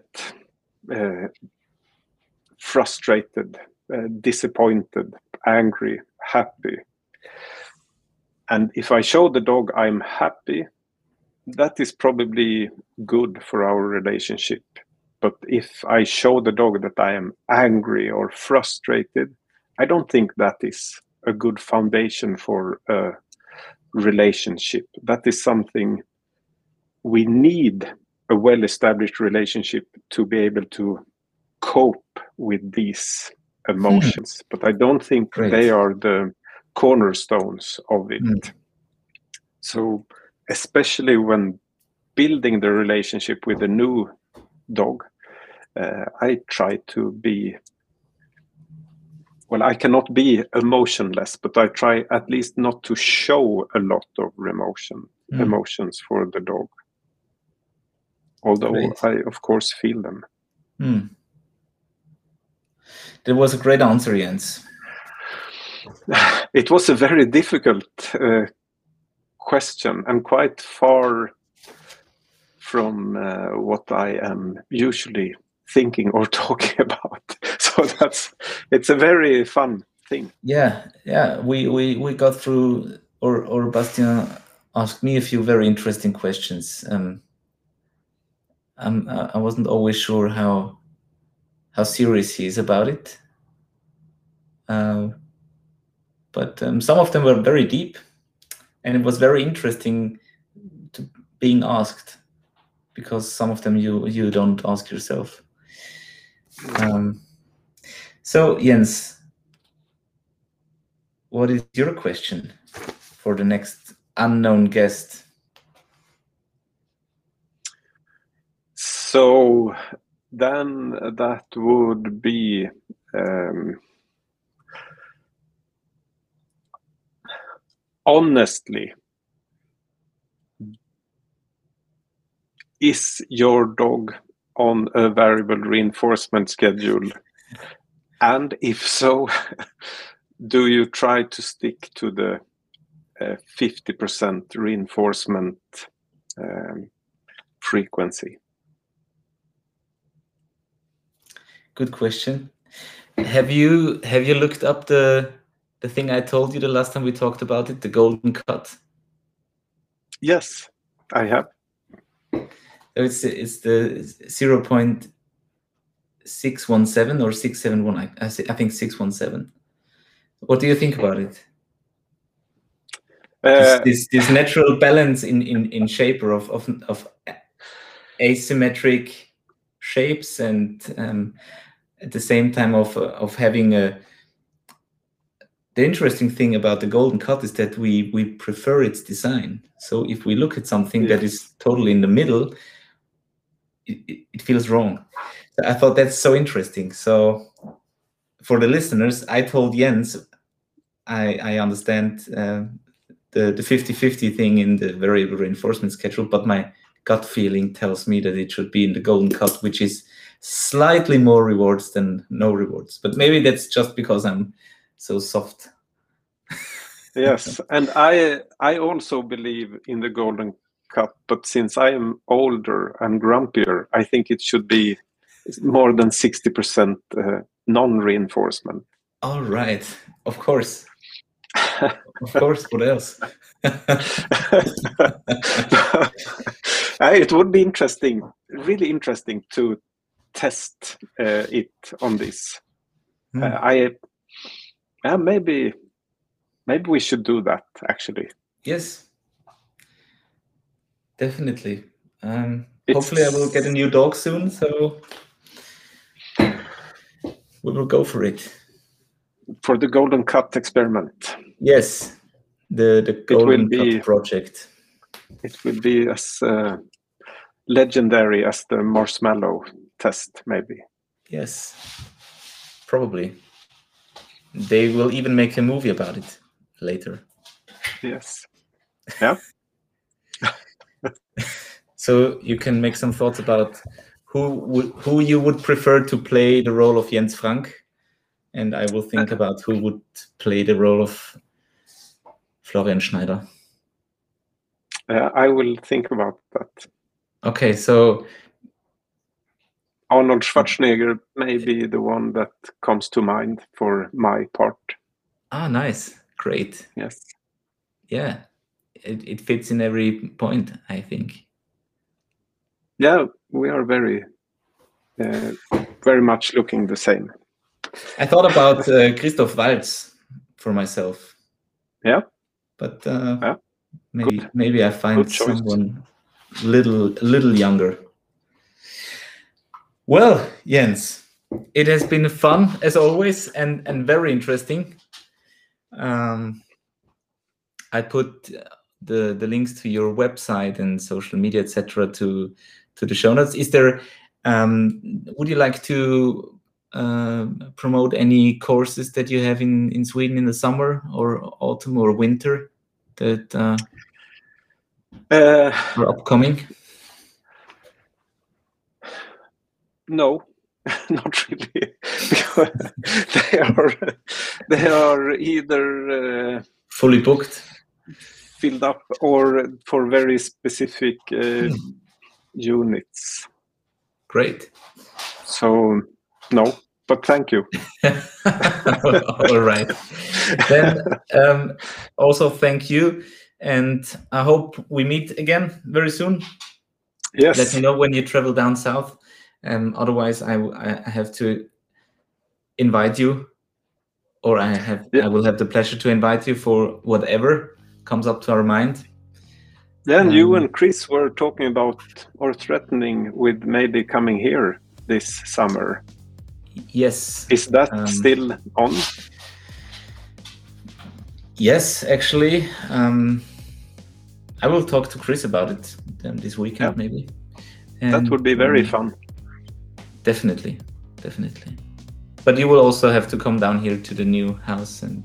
frustrated, disappointed, angry, happy. And if I show the dog I'm happy, that is probably good for our relationship. But if I show the dog that I am angry or frustrated, I don't think that is a good foundation for a relationship. That is something we need, a well-established relationship to be able to cope with these emotions. But I don't think they are the cornerstones of it. So especially when building the relationship with a new dog, I try to be, I cannot be emotionless, but I try at least not to show a lot of emotions for the dog. Although I, of course, feel them. That was a great answer, Jens. It was a very difficult question and quite far from what I am usually thinking or talking about. So it's a very fun thing. Yeah. We got through, or Bastien asked me a few very interesting questions. I wasn't always sure how serious he is about it. But some of them were very deep, and it was very interesting to being asked, because some of them you don't ask yourself. So Jens, what is your question for the next unknown guest? So then that would be honestly, is your dog on a variable reinforcement schedule? And if so, do you try to stick to the 50% reinforcement frequency? Good question. Have you looked up the thing I told you the last time we talked about it, the golden cut? Yes, I have. So it's the 0.617 or 671. I think 617. What do you think about it? This natural balance in shape or of asymmetric shapes, and at the same time of having a. The interesting thing about the golden cut is that we prefer its design. So if we look at something that is totally in the middle, it feels wrong. So I thought that's so interesting. So for the listeners, I told Jens I understand the 50-50 thing in the variable reinforcement schedule, but my gut feeling tells me that it should be in the golden cut, which is slightly more rewards than no rewards. But maybe that's just because I'm so soft. Yes, and I also believe in the golden cut, but since I am older and grumpier, I think it should be more than 60% non-reinforcement. All right, of course. Of course, what else? It would be interesting, really interesting to test it on this. Maybe we should do that, actually. Yes, definitely. Hopefully I will get a new dog soon, so we will go for it. For the golden cut experiment. Yes, the golden cut project. It will be as legendary as the marshmallow test, maybe. Yes, probably. They will even make a movie about it later. Yes. Yeah. So you can make some thoughts about who you would prefer to play the role of Jens Frank, and I will think about who would play the role of Florian Schneider. I will think about that. Okay, so Arnold Schwarzenegger may be the one that comes to mind for my part. Nice, great. Yes. Yeah, it fits in every point, I think. Yeah, we are very much looking the same. I thought about Christoph Waltz for myself. Yeah. But yeah. maybe I find someone a little younger. Well, Jens, it has been fun as always and very interesting. I put the links to your website and social media, etc., to the show notes. Is there? Would you like to promote any courses that you have in Sweden in the summer or autumn or winter that are upcoming? No, not really. Because they are either fully booked, filled up, or for very specific units. Great. So no, but thank you. All right. Then also thank you, and I hope we meet again very soon. Yes. Let me know when you travel down south. Otherwise, I have to invite you, or I will have the pleasure to invite you for whatever comes up to our mind. Then you and Chris were talking about or threatening with maybe coming here this summer. Yes. Is that still on? Yes, actually. I will talk to Chris about it this weekend, maybe. And that would be very fun. Definitely. But you will also have to come down here to the new house and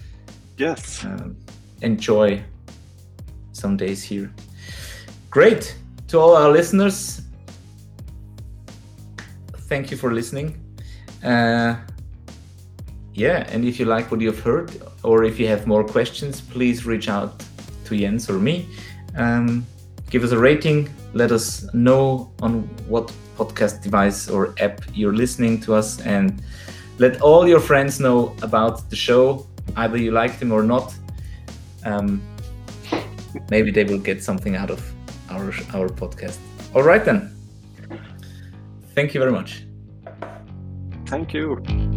enjoy some days here. Great. To all our listeners, thank you for listening. And if you like what you've heard, or if you have more questions, please reach out to Jens or me. Give us a rating. Let us know on what podcast device or app you're listening to us, and let all your friends know about the show, either you like them or not. Maybe they will get something out of our podcast. All right then. Thank you very much. Thank you.